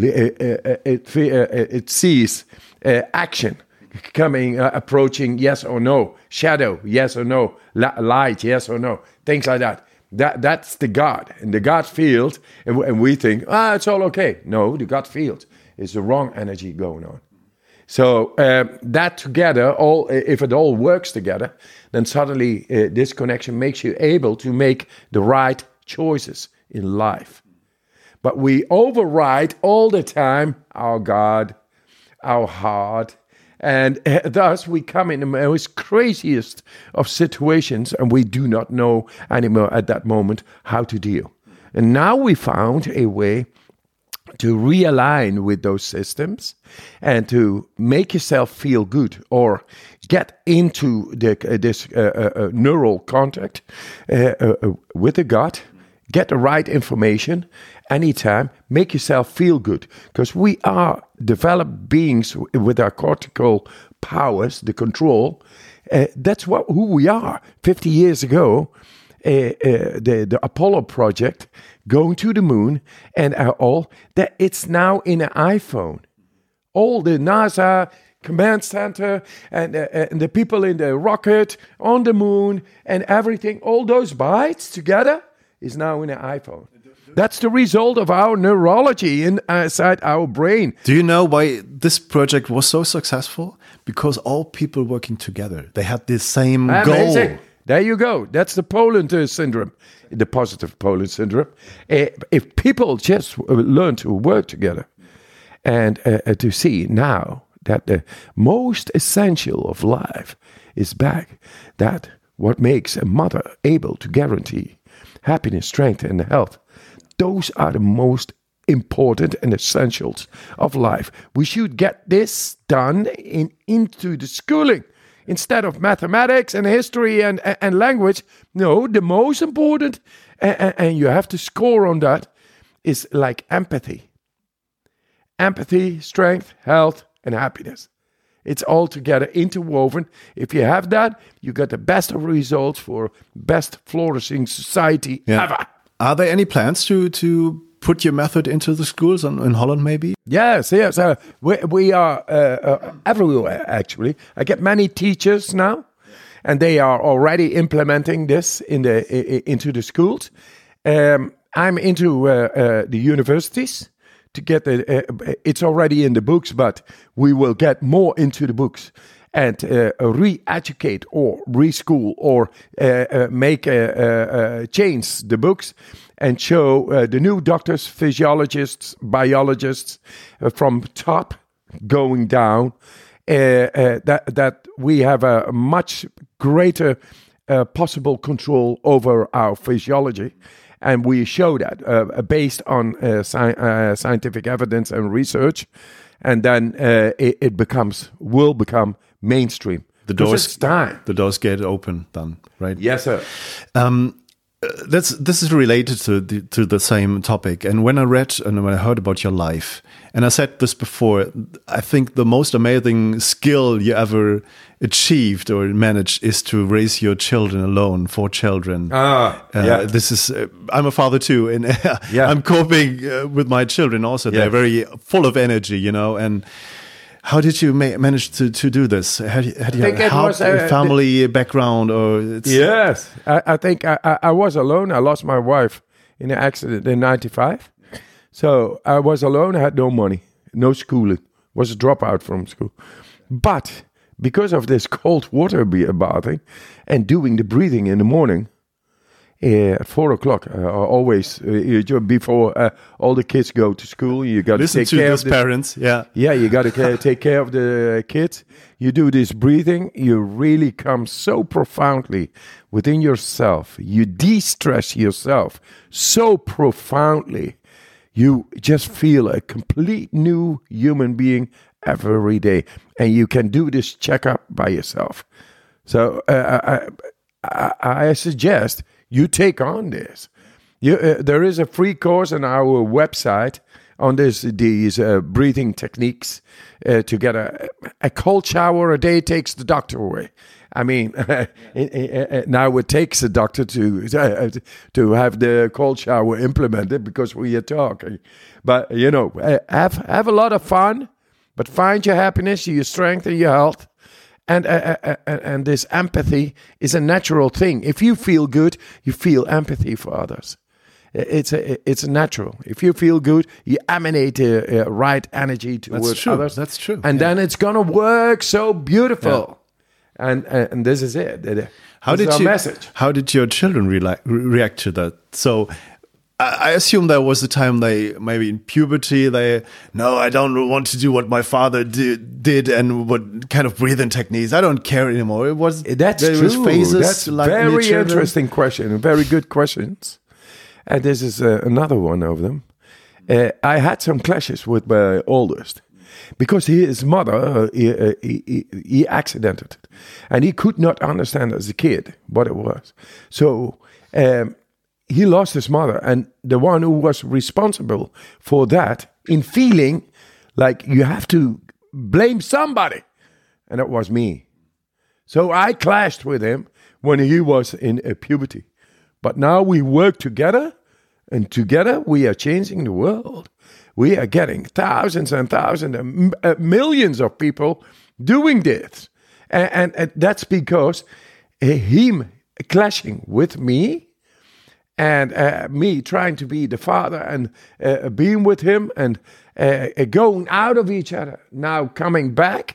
It sees action coming, approaching, yes or no. Shadow, yes or no. Light, yes or no. Things like that. That's the gut. And the gut field, and we think, it's all okay. No, the gut field is the wrong energy going on. So that together, if it all works together, then suddenly this connection makes you able to make the right choices in life. But we override all the time our God, our heart, and thus we come in the most craziest of situations, and we do not know anymore at that moment how to deal. And now we found a way to realign with those systems and to make yourself feel good or get into this neural contact with the gut, get the right information anytime, make yourself feel good. Because we are developed beings with our cortical powers, the control. That's who we are. 50 years ago, the Apollo project going to the moon and all that, it's now in an iPhone. All the NASA command center and the people in the rocket on the moon and everything, all those bytes together is now in an iPhone. That's the result of our neurology inside our brain. Do you know why this project was so successful? Because all people working together, they had the same goal. There you go. That's the Poland syndrome, the positive Poland syndrome. If people just learn to work together and to see now that the most essential of life is back, that what makes a mother able to guarantee happiness, strength, and health, those are the most important and essentials of life. We should get this done into the schooling. Instead of mathematics and history and language, no, the most important, and you have to score on that, is like empathy. Empathy, strength, health, and happiness. It's all together interwoven. If you have that, you get the best of results for best flourishing society ever. Are there any plans to put your method into the schools in Holland, maybe? Yes. We are everywhere, actually. I get many teachers now, and they are already implementing this into the schools. I'm into the universities to get it's already in the books, but we will get more into the books and re-educate or reschool or make change the books and show the new doctors, physiologists, biologists from top going down that we have a much greater possible control over our physiology. And we show that based on scientific evidence and research, and then it will become mainstream. It's time. The doors get open then, right? Yes, sir. This is related to the same topic. And when I read and when I heard about your life, and I said this before, I think the most amazing skill you ever achieved or managed is to raise your children alone, 4 children. This is I'm a father too, and I'm coping with my children also. They're very full of energy, and how did you manage to do this? Had you a family background? Yes, I think I was alone. I lost my wife in an accident in 1995. So I was alone. I had no money, no schooling. Was a dropout from school. But because of this cold water bathing and doing the breathing in the morning, at 4 o'clock, always before all the kids go to school, you got to take care of the parents. You got to take care of the kids. You do this breathing, you really come so profoundly within yourself. You de-stress yourself so profoundly. You just feel a complete new human being every day, and you can do this checkup by yourself. So I suggest you take on this. There is a free course on our website on these breathing techniques. To get a cold shower a day takes the doctor away. I mean, now it takes a doctor to have the cold shower implemented because we are talking. But have a lot of fun, but find your happiness, your strength, and your health. And this empathy is a natural thing. If you feel good, you feel empathy for others. It's natural. If you feel good, you emanate the right energy towards others. That's true. And then it's gonna work so beautiful. Yeah. And this is it. How did your children react to that? So I assume there was a time they maybe in puberty I don't want to do what my father did and what kind of breathing techniques. I don't care anymore. True. Was phases. That's like very interesting question. Very good questions. And this is another one of them. I had some clashes with my oldest because his mother, he accidented it. And he could not understand as a kid what it was. So he lost his mother. And the one who was responsible for that in feeling like you have to blame somebody. And it was me. So I clashed with him when he was in puberty. But now we work together. And together we are changing the world. We are getting thousands and thousands and millions of people doing this. And that's because him clashing with me and me trying to be the father and being with him and going out of each other, now coming back,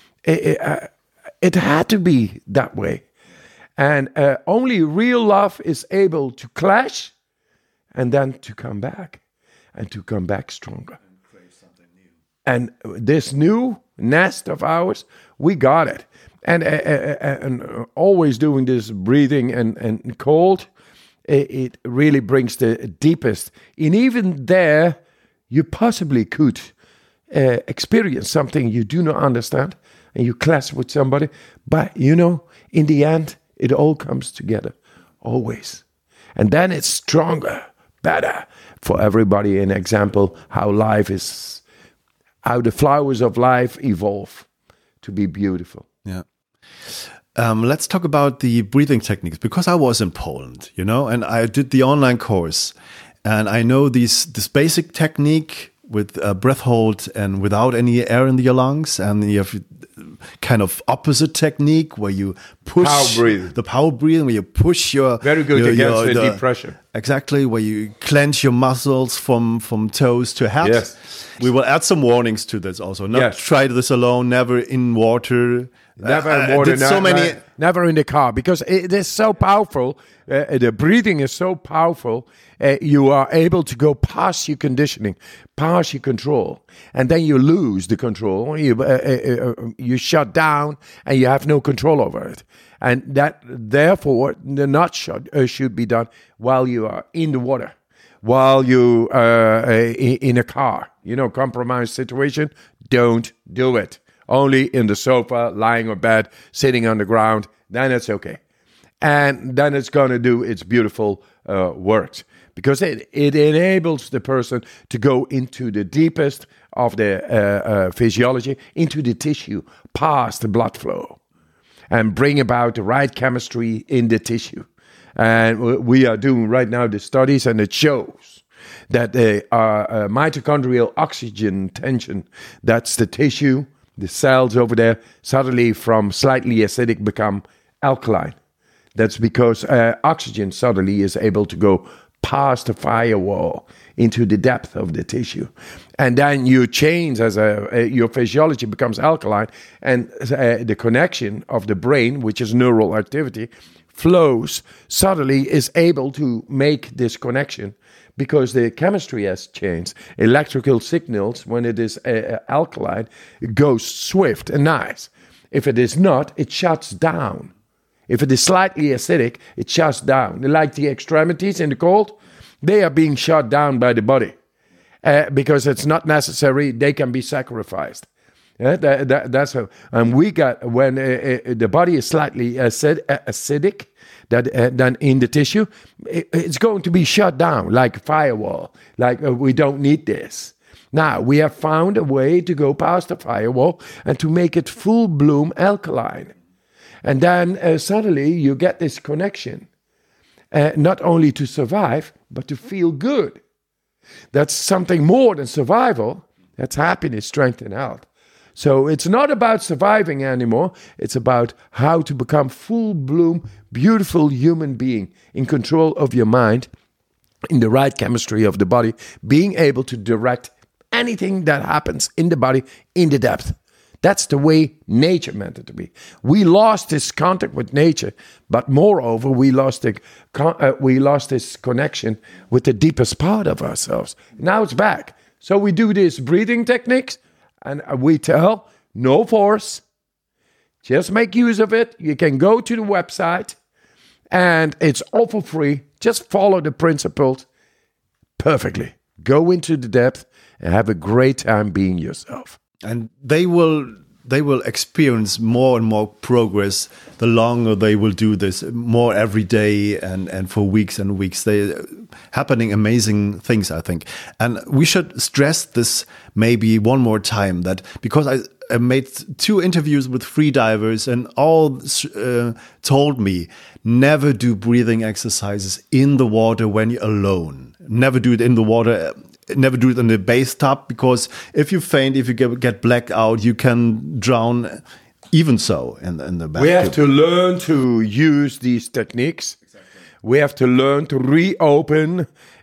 it had to be that way. And only real love is able to clash and then to come back and to come back stronger. And create something new. And this new nest of ours, we got it. And always doing this breathing and cold, it really brings the deepest. And even there, you possibly could experience something you do not understand and you clash with somebody. But, in the end, it all comes together, always. And then it's stronger, better for everybody. An example how the flowers of life evolve to be beautiful. Yeah. Let's talk about the breathing techniques, because I was in Poland, and I did the online course, and I know this basic technique with breath hold and without any air in your lungs, and you have kind of opposite technique where you push the power breathing, where you push your very good against the deep pressure. Exactly, where you clench your muscles from toes to head. Yes. We will add some warnings to this also. Not try this alone, never in water. Never in water, never in the car, because it is so powerful. The breathing is so powerful. You are able to go past your conditioning, past your control, and then you lose the control. You shut down, and you have no control over it. And that, therefore, the not should be done while you are in the water, while you are in a car. Compromised situation. Don't do it. Only in the sofa, lying on bed, sitting on the ground, then it's okay. And then it's going to do its beautiful work. Because it enables the person to go into the deepest of the physiology, into the tissue, past the blood flow, and bring about the right chemistry in the tissue. And we are doing right now the studies, and it shows that the mitochondrial oxygen tension, that's the tissue, the cells over there, suddenly from slightly acidic become alkaline. That's because oxygen suddenly is able to go past the firewall into the depth of the tissue. And then you change as your physiology becomes alkaline, and the connection of the brain, which is neural activity, flows, suddenly is able to make this connection. Because the chemistry has changed. Electrical signals, when it is alkaline, it goes swift and nice. If it is not, it shuts down. If it is slightly acidic, it shuts down. Like the extremities in the cold, they are being shut down by the body. Because it's not necessary, they can be sacrificed. That's how. And we got, when the body is slightly acidic, then in the tissue, it's going to be shut down like a firewall. Like we don't need this. Now, we have found a way to go past the firewall and to make it full bloom alkaline. And then suddenly you get this connection, not only to survive, but to feel good. That's something more than survival. That's happiness, strength, and health. So it's not about surviving anymore. It's about how to become full bloom, beautiful human being in control of your mind, in the right chemistry of the body, being able to direct anything that happens in the body in the depth. That's the way nature meant it to be. We lost this contact with nature, but moreover, we lost this connection with the deepest part of ourselves. Now it's back. So we do these breathing techniques, and we tell, no force, just make use of it. You can go to the website, and it's all for free. Just follow the principles perfectly. Go into the depth and have a great time being yourself. And they will experience more and more progress the longer they will do this, more every day and for weeks and weeks. They happening amazing things, I think. And we should stress this maybe one more time, that because I made 2 interviews with freedivers and all told me, never do breathing exercises in the water when you're alone. Never do it in the water. Never do it in the bathtub, because if you faint, if you get blacked out, you can drown. Even so, in the bathtub. We have to learn to use these techniques. Exactly. We have to learn to reopen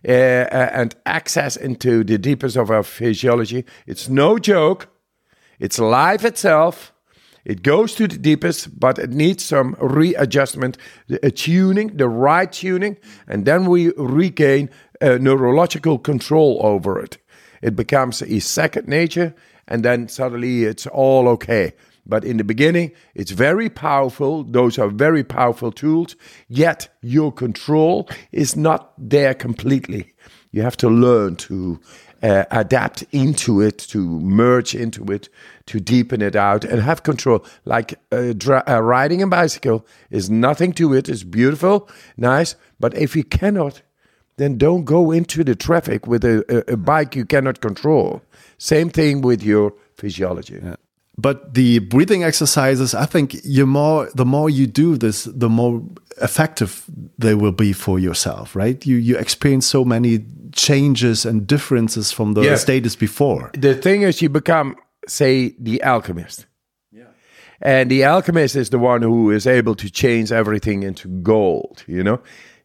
and access into the deepest of our physiology. It's no joke. It's life itself. It goes to the deepest, but it needs some readjustment, tuning, the right tuning, and then we regain neurological control over it. It becomes a second nature, and then suddenly it's all okay. But in the beginning, it's very powerful. Those are very powerful tools, yet your control is not there completely. You have to learn to adapt into it, to merge into it, to deepen it out and have control. Like riding a bicycle is nothing to it. It's beautiful, nice. But if you cannot, then don't go into the traffic with a bike you cannot control. Same thing with your physiology. Yeah. But the breathing exercises, I think the more you do this, the more effective they will be for yourself, right? You experience so many changes and differences from the status before. The thing is, you become, say, the alchemist. Yeah. And the alchemist is the one who is able to change everything into gold, you know?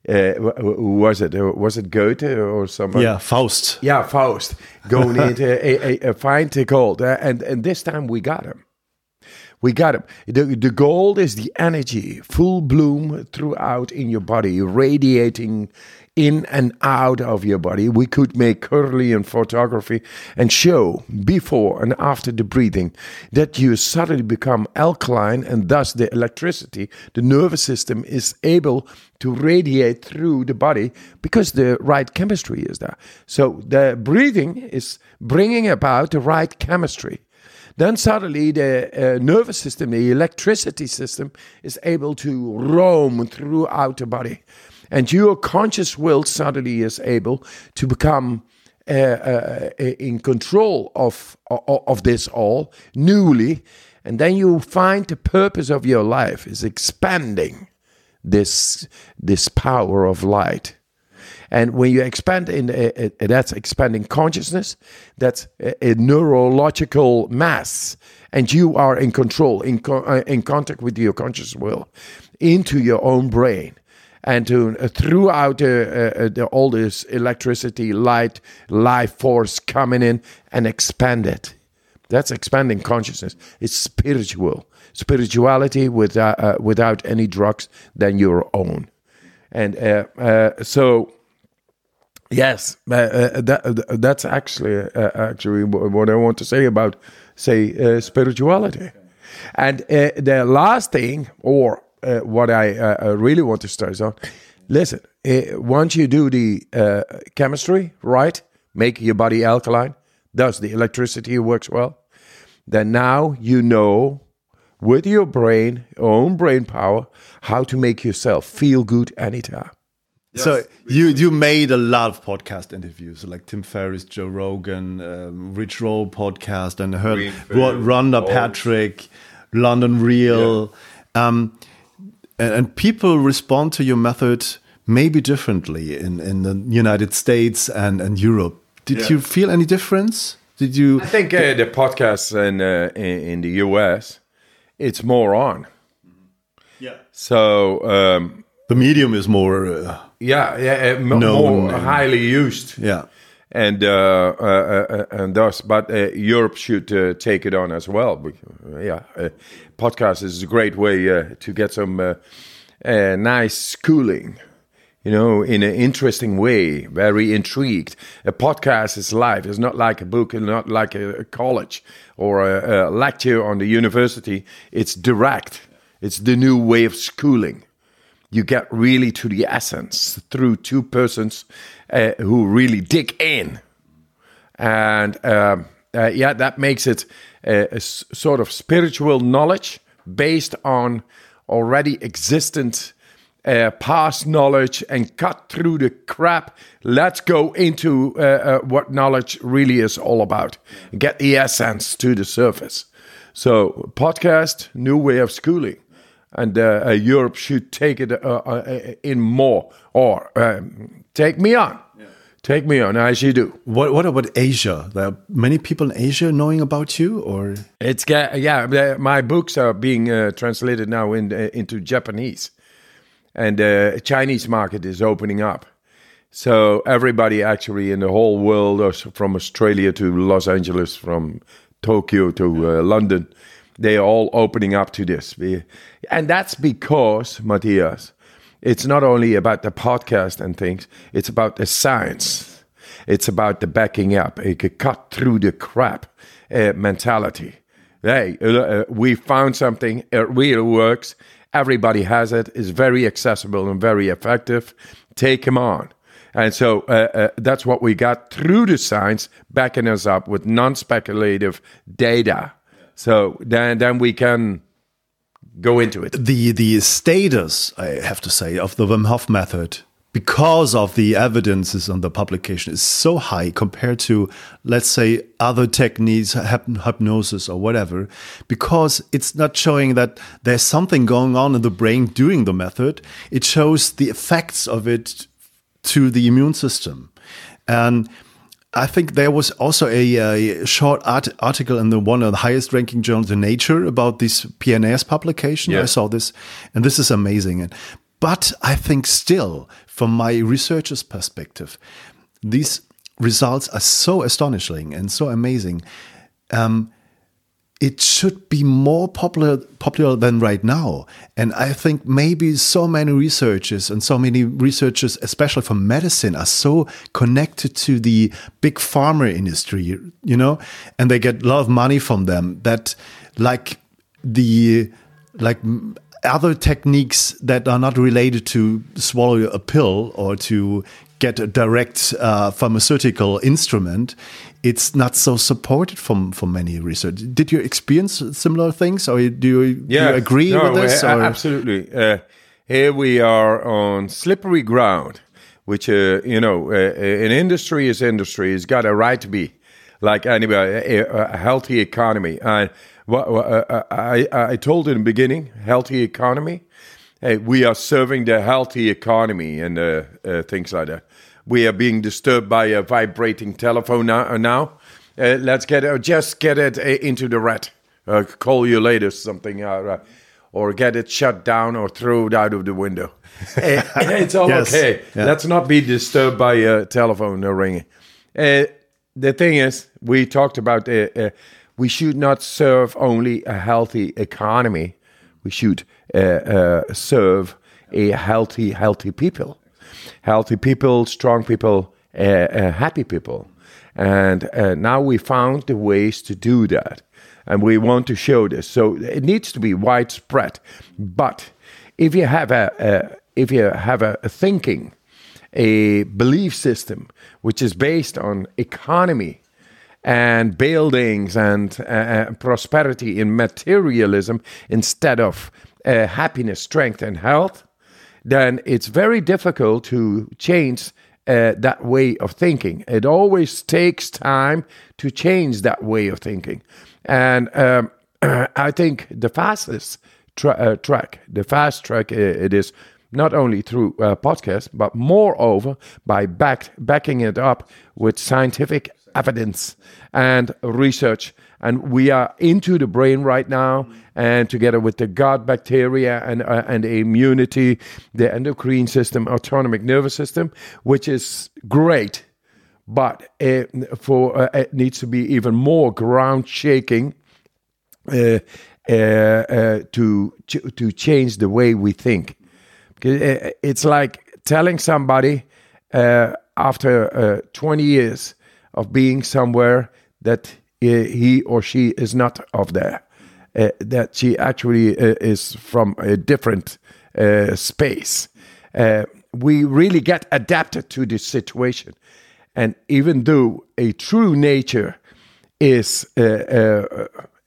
Who was it? Was it Goethe or somebody? Yeah, Faust. Yeah, Faust. Going into find the gold. And this time we got him. We got him. The gold is the energy, full bloom throughout in your body, radiating in and out of your body. We could make Kirlian photography and show before and after the breathing that you suddenly become alkaline, and thus the electricity, the nervous system is able to radiate through the body because the right chemistry is there. So the breathing is bringing about the right chemistry. Then suddenly the nervous system, the electricity system, is able to roam throughout the body. And your conscious will suddenly is able to become in control of this all newly. And then you find the purpose of your life is expanding this power of light. And when you expand that's expanding consciousness, that's a neurological mass, and you are in control, in contact with your conscious will, into your own brain, and throughout all this electricity, light, life force coming in and expand it. That's expanding consciousness. It's spirituality without any drugs than your own, and so. Yes, that's actually what I want to say about, spirituality. And the last thing, or what I really want to stress on, listen, once you do the chemistry, right, make your body alkaline, thus the electricity works well, then now you know with your brain, your own brain power, how to make yourself feel good anytime. Yes. So you made a lot of podcast interviews, like Tim Ferriss, Joe Rogan, Rich Roll podcast, and heard Rhonda Patrick, London Real, and people respond to your method maybe differently in the United States and Europe. Did you feel any difference? Did you? I think the podcasts in the US, it's more on. Yeah. So. The medium is more more highly used. Yeah, and thus, but Europe should take it on as well. Podcast is a great way to get some nice schooling, in an interesting way. Very intrigued. A podcast is live. It's not like a book, and not like a college or a lecture on the university. It's direct. It's the new way of schooling. You get really to the essence through two persons who really dig in. And that makes it a sort of spiritual knowledge based on already existent past knowledge and cut through the crap. Let's go into what knowledge really is all about. Get the essence to the surface. So podcast, new way of schooling. And Europe should take it in more, or take me on. Yeah. Take me on, as you do. What about Asia? There are many people in Asia knowing about you, or it's my books are being translated now into Japanese, and the Chinese market is opening up. So everybody actually in the whole world, from Australia to Los Angeles, from Tokyo to London, they are all opening up to this. And that's because, Matthias, it's not only about the podcast and things, it's about the science. It's about the backing up. It could cut through the crap mentality. Hey, we found something, it really works. Everybody has it. It's very accessible and very effective. Take them on. And so that's what we got through the science, backing us up with non-speculative data. So then we can go into it. The status, I have to say, of the Wim Hof method, because of the evidences on the publication, is so high compared to, let's say, other techniques, hypnosis or whatever, because it's not showing that there's something going on in the brain during the method. It shows the effects of it to the immune system. And I think there was also a short article in one of the highest ranking journals in Nature about this PNAS publication. Yeah. I saw this, and this is amazing. But I think still, from my researcher's perspective, these results are so astonishing and so amazing. It should be more popular than right now. And I think maybe so many researchers, especially from medicine, are so connected to the big pharma industry, and they get a lot of money from them, that like other techniques that are not related to swallow a pill or to get a direct pharmaceutical instrument, it's not so supported from many research. Did you experience similar things, or do you agree with this? Absolutely. Here we are on slippery ground, which an industry is industry. It's got a right to be like anybody, a healthy economy. And I told in the beginning, healthy economy. Hey, we are serving the healthy economy and things like that. We are being disturbed by a vibrating telephone now. Let's get it into the rat. Call you later, something, or get it shut down or throw it out of the window. It's all okay. Yeah. Let's not be disturbed by a telephone ringing. The thing is, we talked about we should not serve only a healthy economy. We should serve a healthy people. Healthy people, strong people, happy people. And now we found the ways to do that. And we want to show this. So it needs to be widespread. But if you have a thinking, a belief system, which is based on economy and buildings and prosperity in materialism instead of happiness, strength, and health, then it's very difficult to change that way of thinking. It always takes time to change that way of thinking. And I think the fastest track, it is not only through podcasts, but moreover by backing it up with scientific evidence and research. And we are into the brain right now, and together with the gut bacteria and the immunity, the endocrine system, autonomic nervous system, which is great, but it needs to be even more ground shaking to change the way we think. It's like telling somebody after 20 years of being somewhere that he or she is not of there, that she actually is from a different space. We really get adapted to this situation. And even though a true nature is there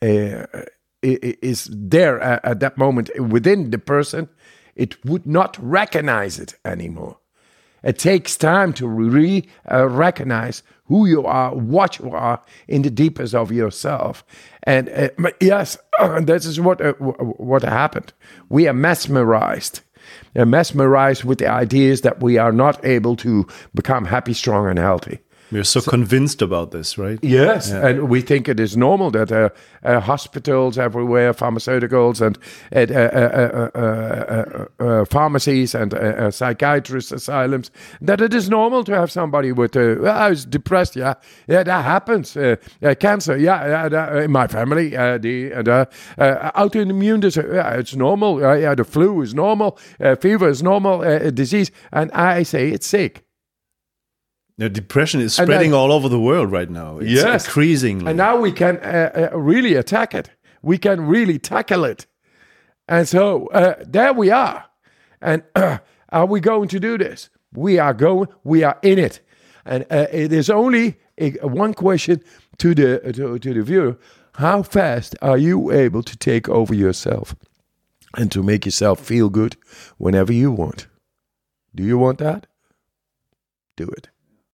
at that moment within the person, it would not recognize it anymore. It takes time to recognize who you are, what you are in the deepest of yourself. And yes, this is what happened. We are mesmerized with the ideas that we are not able to become happy, strong, and healthy. We're so convinced about this, right? Yes, and we think it is normal that hospitals everywhere, pharmaceuticals and pharmacies and psychiatrist asylums, that it is normal to have somebody with, I was depressed, yeah, that happens. Cancer, in my family, autoimmune disease, it's normal. The flu is normal, fever is normal, disease, and I say it's sick. The depression is spreading all over the world right now. It's increasingly. And now we can really attack it. We can really tackle it. And so there we are. And are we going to do this? We are in it. And it is only one question to the viewer. How fast are you able to take over yourself and to make yourself feel good whenever you want? Do you want that? Do it.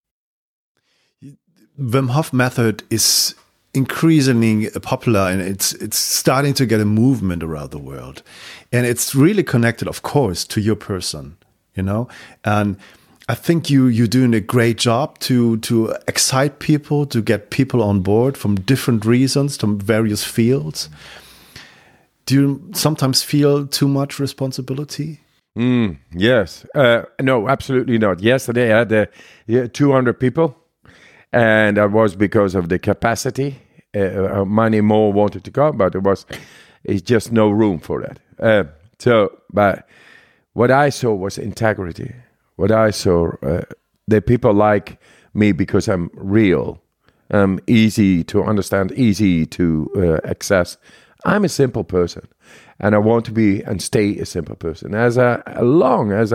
Wim Hof method is increasingly popular, and it's starting to get a movement around the world, and it's really connected, of course, to your person, and I think you're doing a great job to excite people, to get people on board from different reasons, from various fields. Do you sometimes feel too much responsibility? Yes. No, absolutely not. Yesterday I had 200 people. And that was because of the capacity. Many more wanted to come, but it's just no room for that. But what I saw was integrity. What I saw, the people like me because I'm real. I'm easy to understand, easy to access. I'm a simple person, and I want to be and stay a simple person. As long as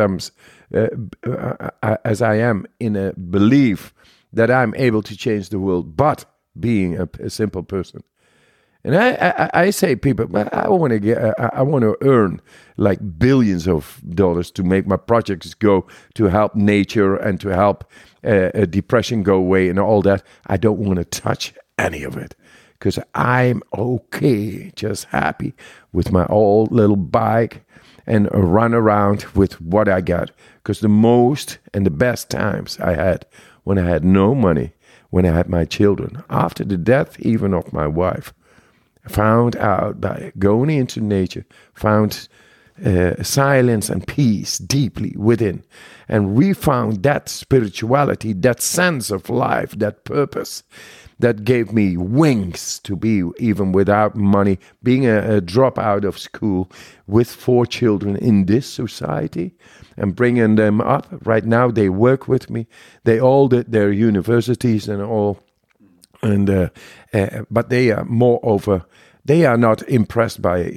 I am in a belief that I'm able to change the world, but being a simple person. And I say, people, I want to earn like billions of dollars to make my projects go, to help nature and to help depression go away and all that. I don't want to touch any of it because I'm okay, just happy with my old little bike and run around with what I got. Because the most and the best times I had when I had no money, when I had my children, after the death even of my wife, found out by going into nature, found silence and peace deeply within. And we found that spirituality, that sense of life, that purpose that gave me wings to be, even without money, being a dropout of school with 4 children in this society and bringing them up. Right now they work with me. They all did their universities and all. And but they are moreover, they are not impressed by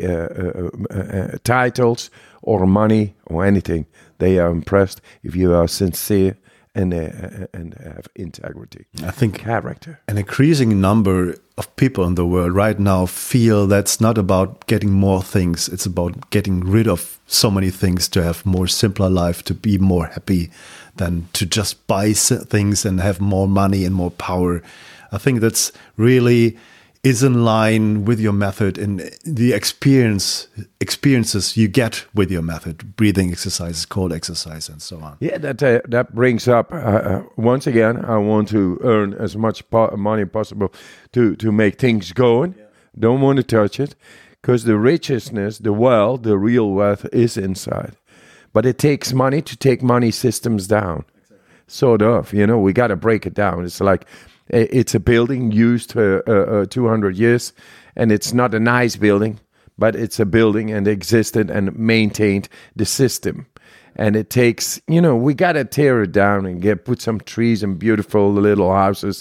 titles or money or anything. They are impressed if you are sincere and have integrity. I think character. An increasing number of people in the world right now feel that's not about getting more things. It's about getting rid of so many things to have more simpler life, to be more happy than to just buy things and have more money and more power. I think that's really is in line with your method and the experiences you get with your method, breathing exercises, cold exercise, and so on. Yeah, that brings up, once again, I want to earn as much money possible to make things going. Yeah. Don't want to touch it, because the richness, the wealth, the real wealth is inside. But it takes money to take money systems down. Exactly. Sort of, we got to break it down. It's like, it's a building used for 200 years, and it's not a nice building, but it's a building and existed and maintained the system. And it takes, we got to tear it down and put some trees and beautiful little houses,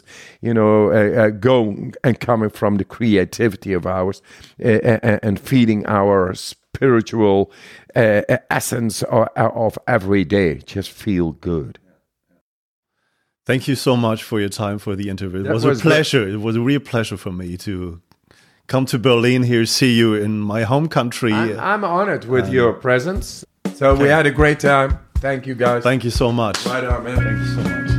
going and coming from the creativity of ours and feeding our spiritual essence of every day. Just feel good. Thank you so much for your time for the interview. It That was was a pleasure. It was a real pleasure for me to come to Berlin here, see you in my home country. I'm honored with your presence. So we had a great time. Thank you, guys. Thank you so much. Right on, man. Thank you so much.